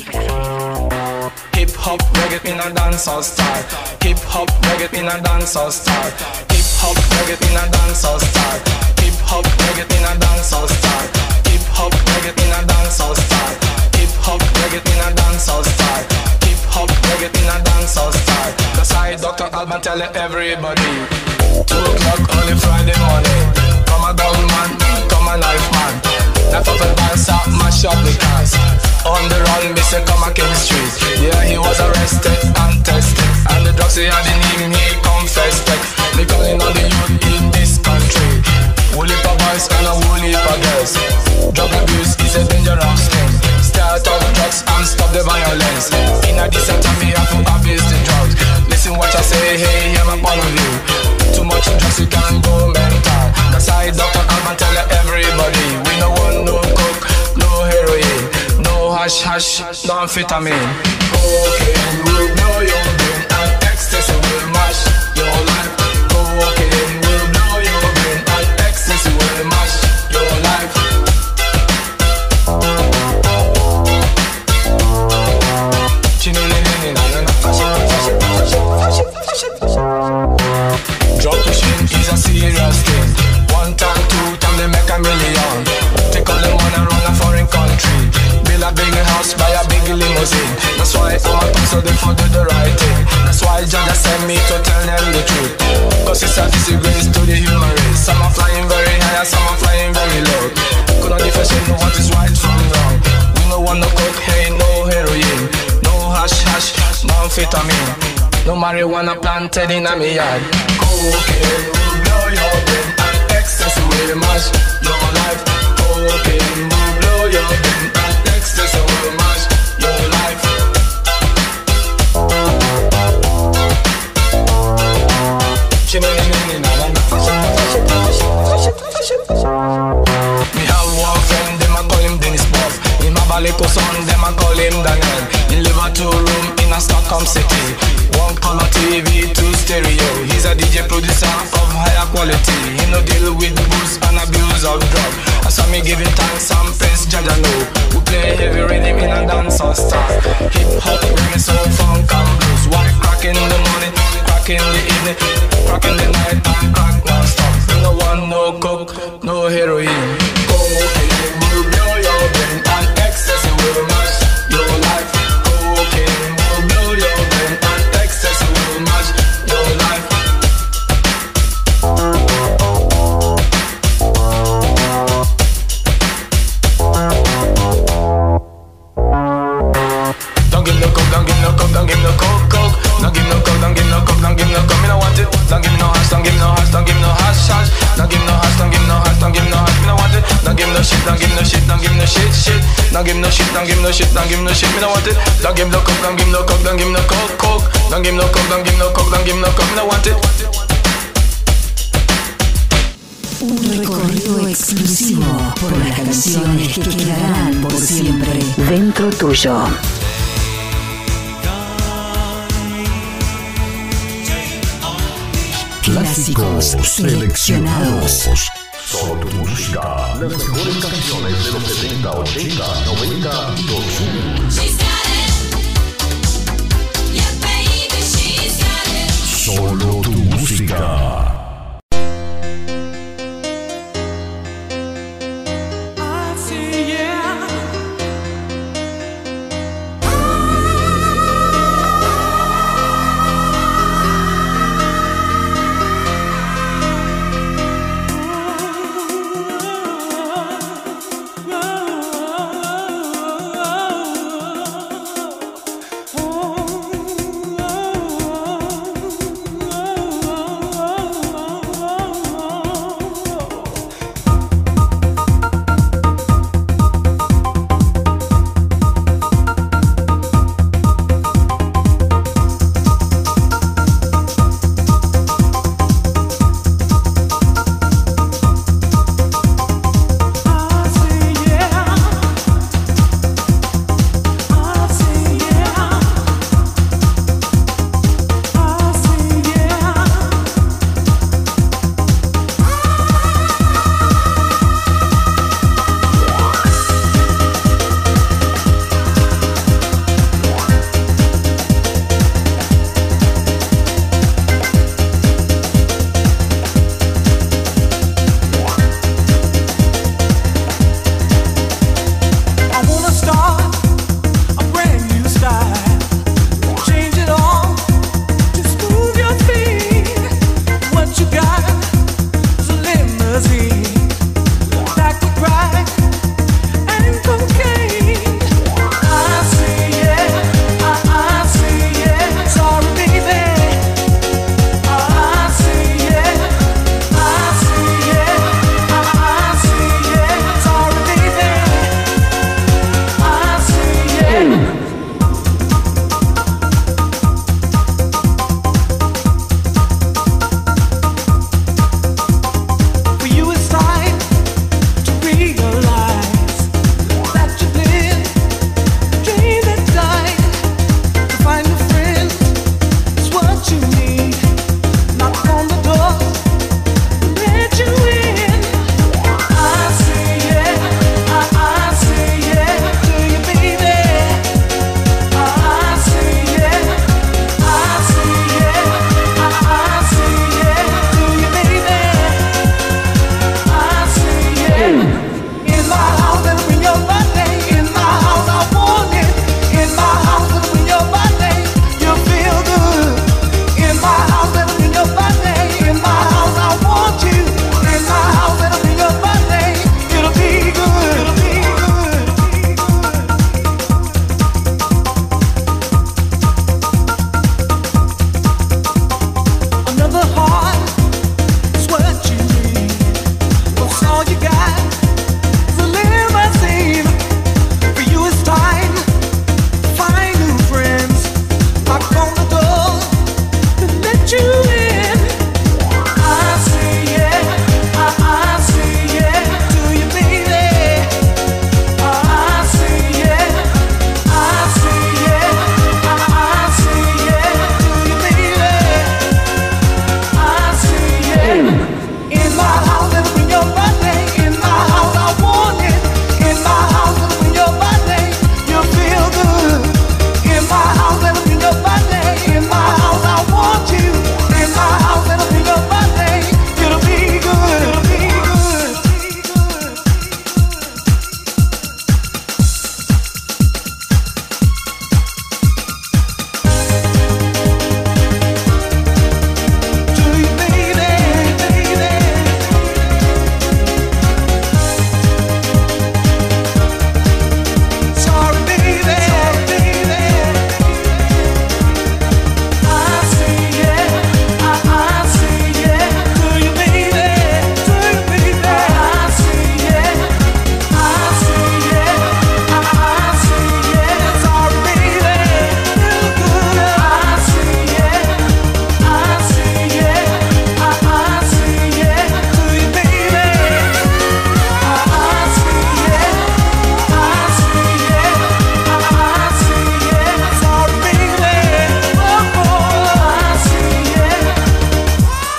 Hip hop reggae in a dancehall style. Hip hop reggae in a dancehall style. Hip hop reggae in a dancehall style. Hip hop reggae in a dancehall style. Hip hop reggae in a dancehall style. Hip hop reggae in a dancehall style. Hip hop reggae in a dancehall style. The side Dr. Alban tell everybody. 2 o'clock early Friday morning. Come a gun man, come a knife man. Knife up and dance up, mash up the cars. On the run, me say come a King Street. Yeah, he was arrested and tested. And the drugs he had in him, he confessed it. Me calling on the youth in this country. Woolly pa boys and a woolly pa girls. Drug abuse is a dangerous thing. Start off drugs and stop the violence. In a decent time, we have to abuse the drugs. Listen what I say, hey, hear my point of view. Too much drugs, you can go mental. That's why Dr. Alban tell everybody. We no want no coke, no heroin, no hash hash, no amphetamine. Cocaine will blow your brain and ecstasy will mash your life. Cocaine will blow your brain and ecstasy will mash your life. me to tell them the truth. Cause it's a disgrace to the human race. Some are flying very high and some are flying very low. Couldn't differentiate what is right from wrong. We no want no cocaine, no heroin, no hash hash, no amphetamine, no marijuana planted in a me yard. Cocaine will blow your brain and excess will mash your life. Cocaine will blow your brain and excess will mash your life. Me have one friend, them a call him Dennis Buff. In my Balico son, them a call him Daniel. He live a 2-room in a Stockholm city. 1 color TV, 2 stereo. He's a DJ producer of higher quality. He no deal with booze and abuse of drugs. I saw me giving thanks and praise, Jaja know. We play heavy rhythm in a dancehall style. Hip hop, reggae, soul, funk and blues. White crack in the morning, crack in the evening, crack in the night and crack non-stop. No one, no coke, no heroin. Cocaine will blow your brain and excess will mash your life. Cocaine will blow your brain and excess will mash your life. Don't give no coke, don't give no coke, don't give no coke, coke. Don't give no coke, don't give no coke, don't give no coke. Me no want it. Don't give no hash, don't give no hash, don't give no hash, hash. Don't give no hash, don't give no hash, don't give no hash. Me no want it. Don't give no shit, don't give no shit, don't give no shit, shit. Don't give no shit, don't give no shit, don't give no shit. Me no want it. Don't give no coke, don't give no coke, don't give no coke, coke. Don't give no coke, don't give no coke, don't give no coke. Me no want it. Un recorrido exclusivo por las canciones que quedarán por siempre dentro tuyo. Clásicos seleccionados. Solo tu música. Las mejores canciones de los 70, 80, 90 y 2000. Solo tu música.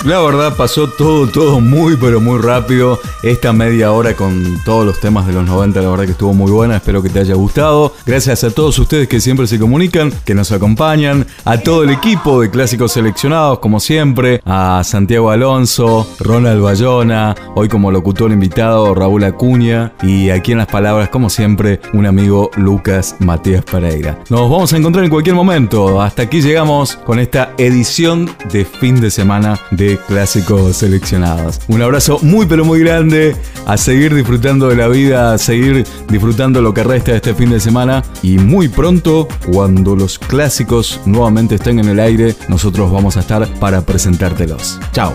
La verdad pasó todo muy pero muy rápido. Esta media hora con todos los temas de los 90, la verdad que estuvo muy buena. Espero que te haya gustado. Gracias a todos ustedes que siempre se comunican, que nos acompañan. A todo el equipo de Clásicos Seleccionados, como siempre. A Santiago Alonso, Ronald Bayona, hoy como locutor invitado Raúl Acuña. Y aquí en las palabras, como siempre, un amigo Lucas Matías Pereira. Nos vamos a encontrar en cualquier momento. Hasta aquí llegamos con esta edición de fin de semana de Clásicos Seleccionados. Un abrazo muy pero muy grande, a seguir disfrutando de la vida, a seguir disfrutando lo que resta de este fin de semana, y muy pronto, cuando los clásicos nuevamente estén en el aire, nosotros vamos a estar para presentártelos. Chao.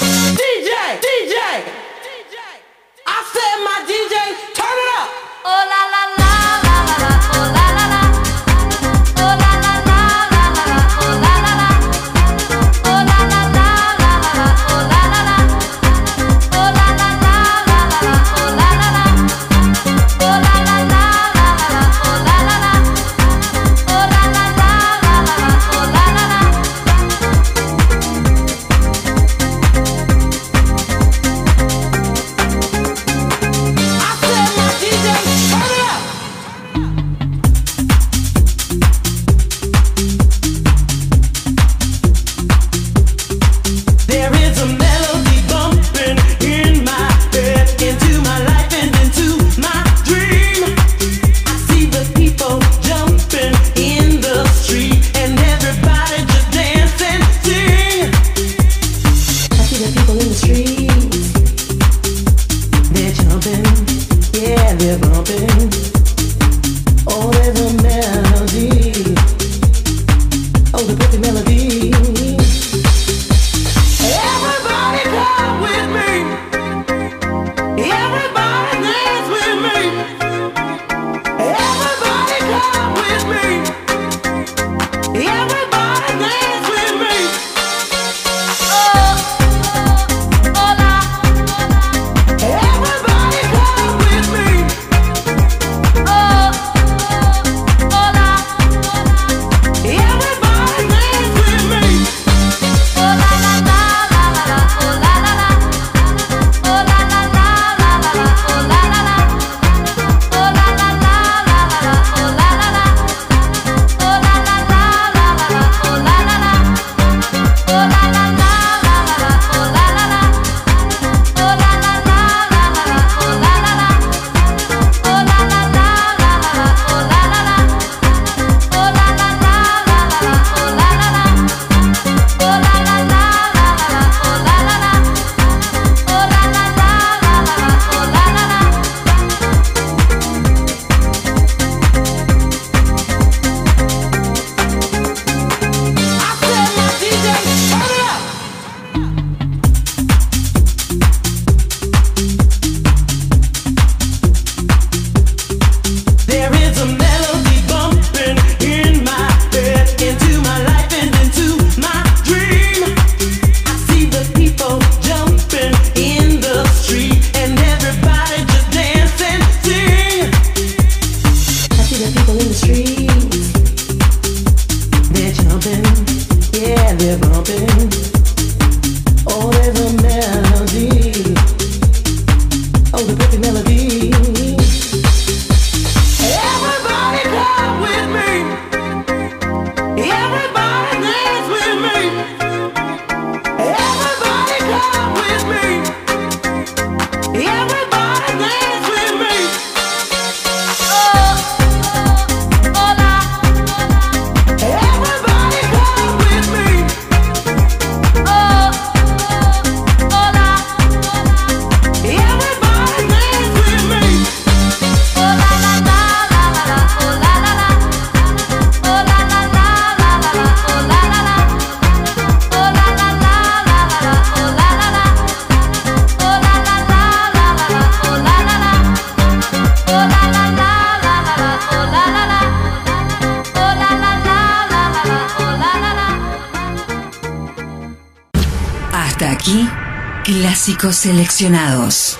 Hasta aquí, Clásicos Seleccionados.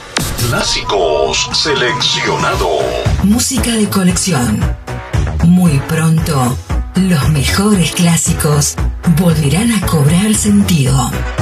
Clásicos Seleccionados. Música de colección. Muy pronto, los mejores clásicos volverán a cobrar sentido.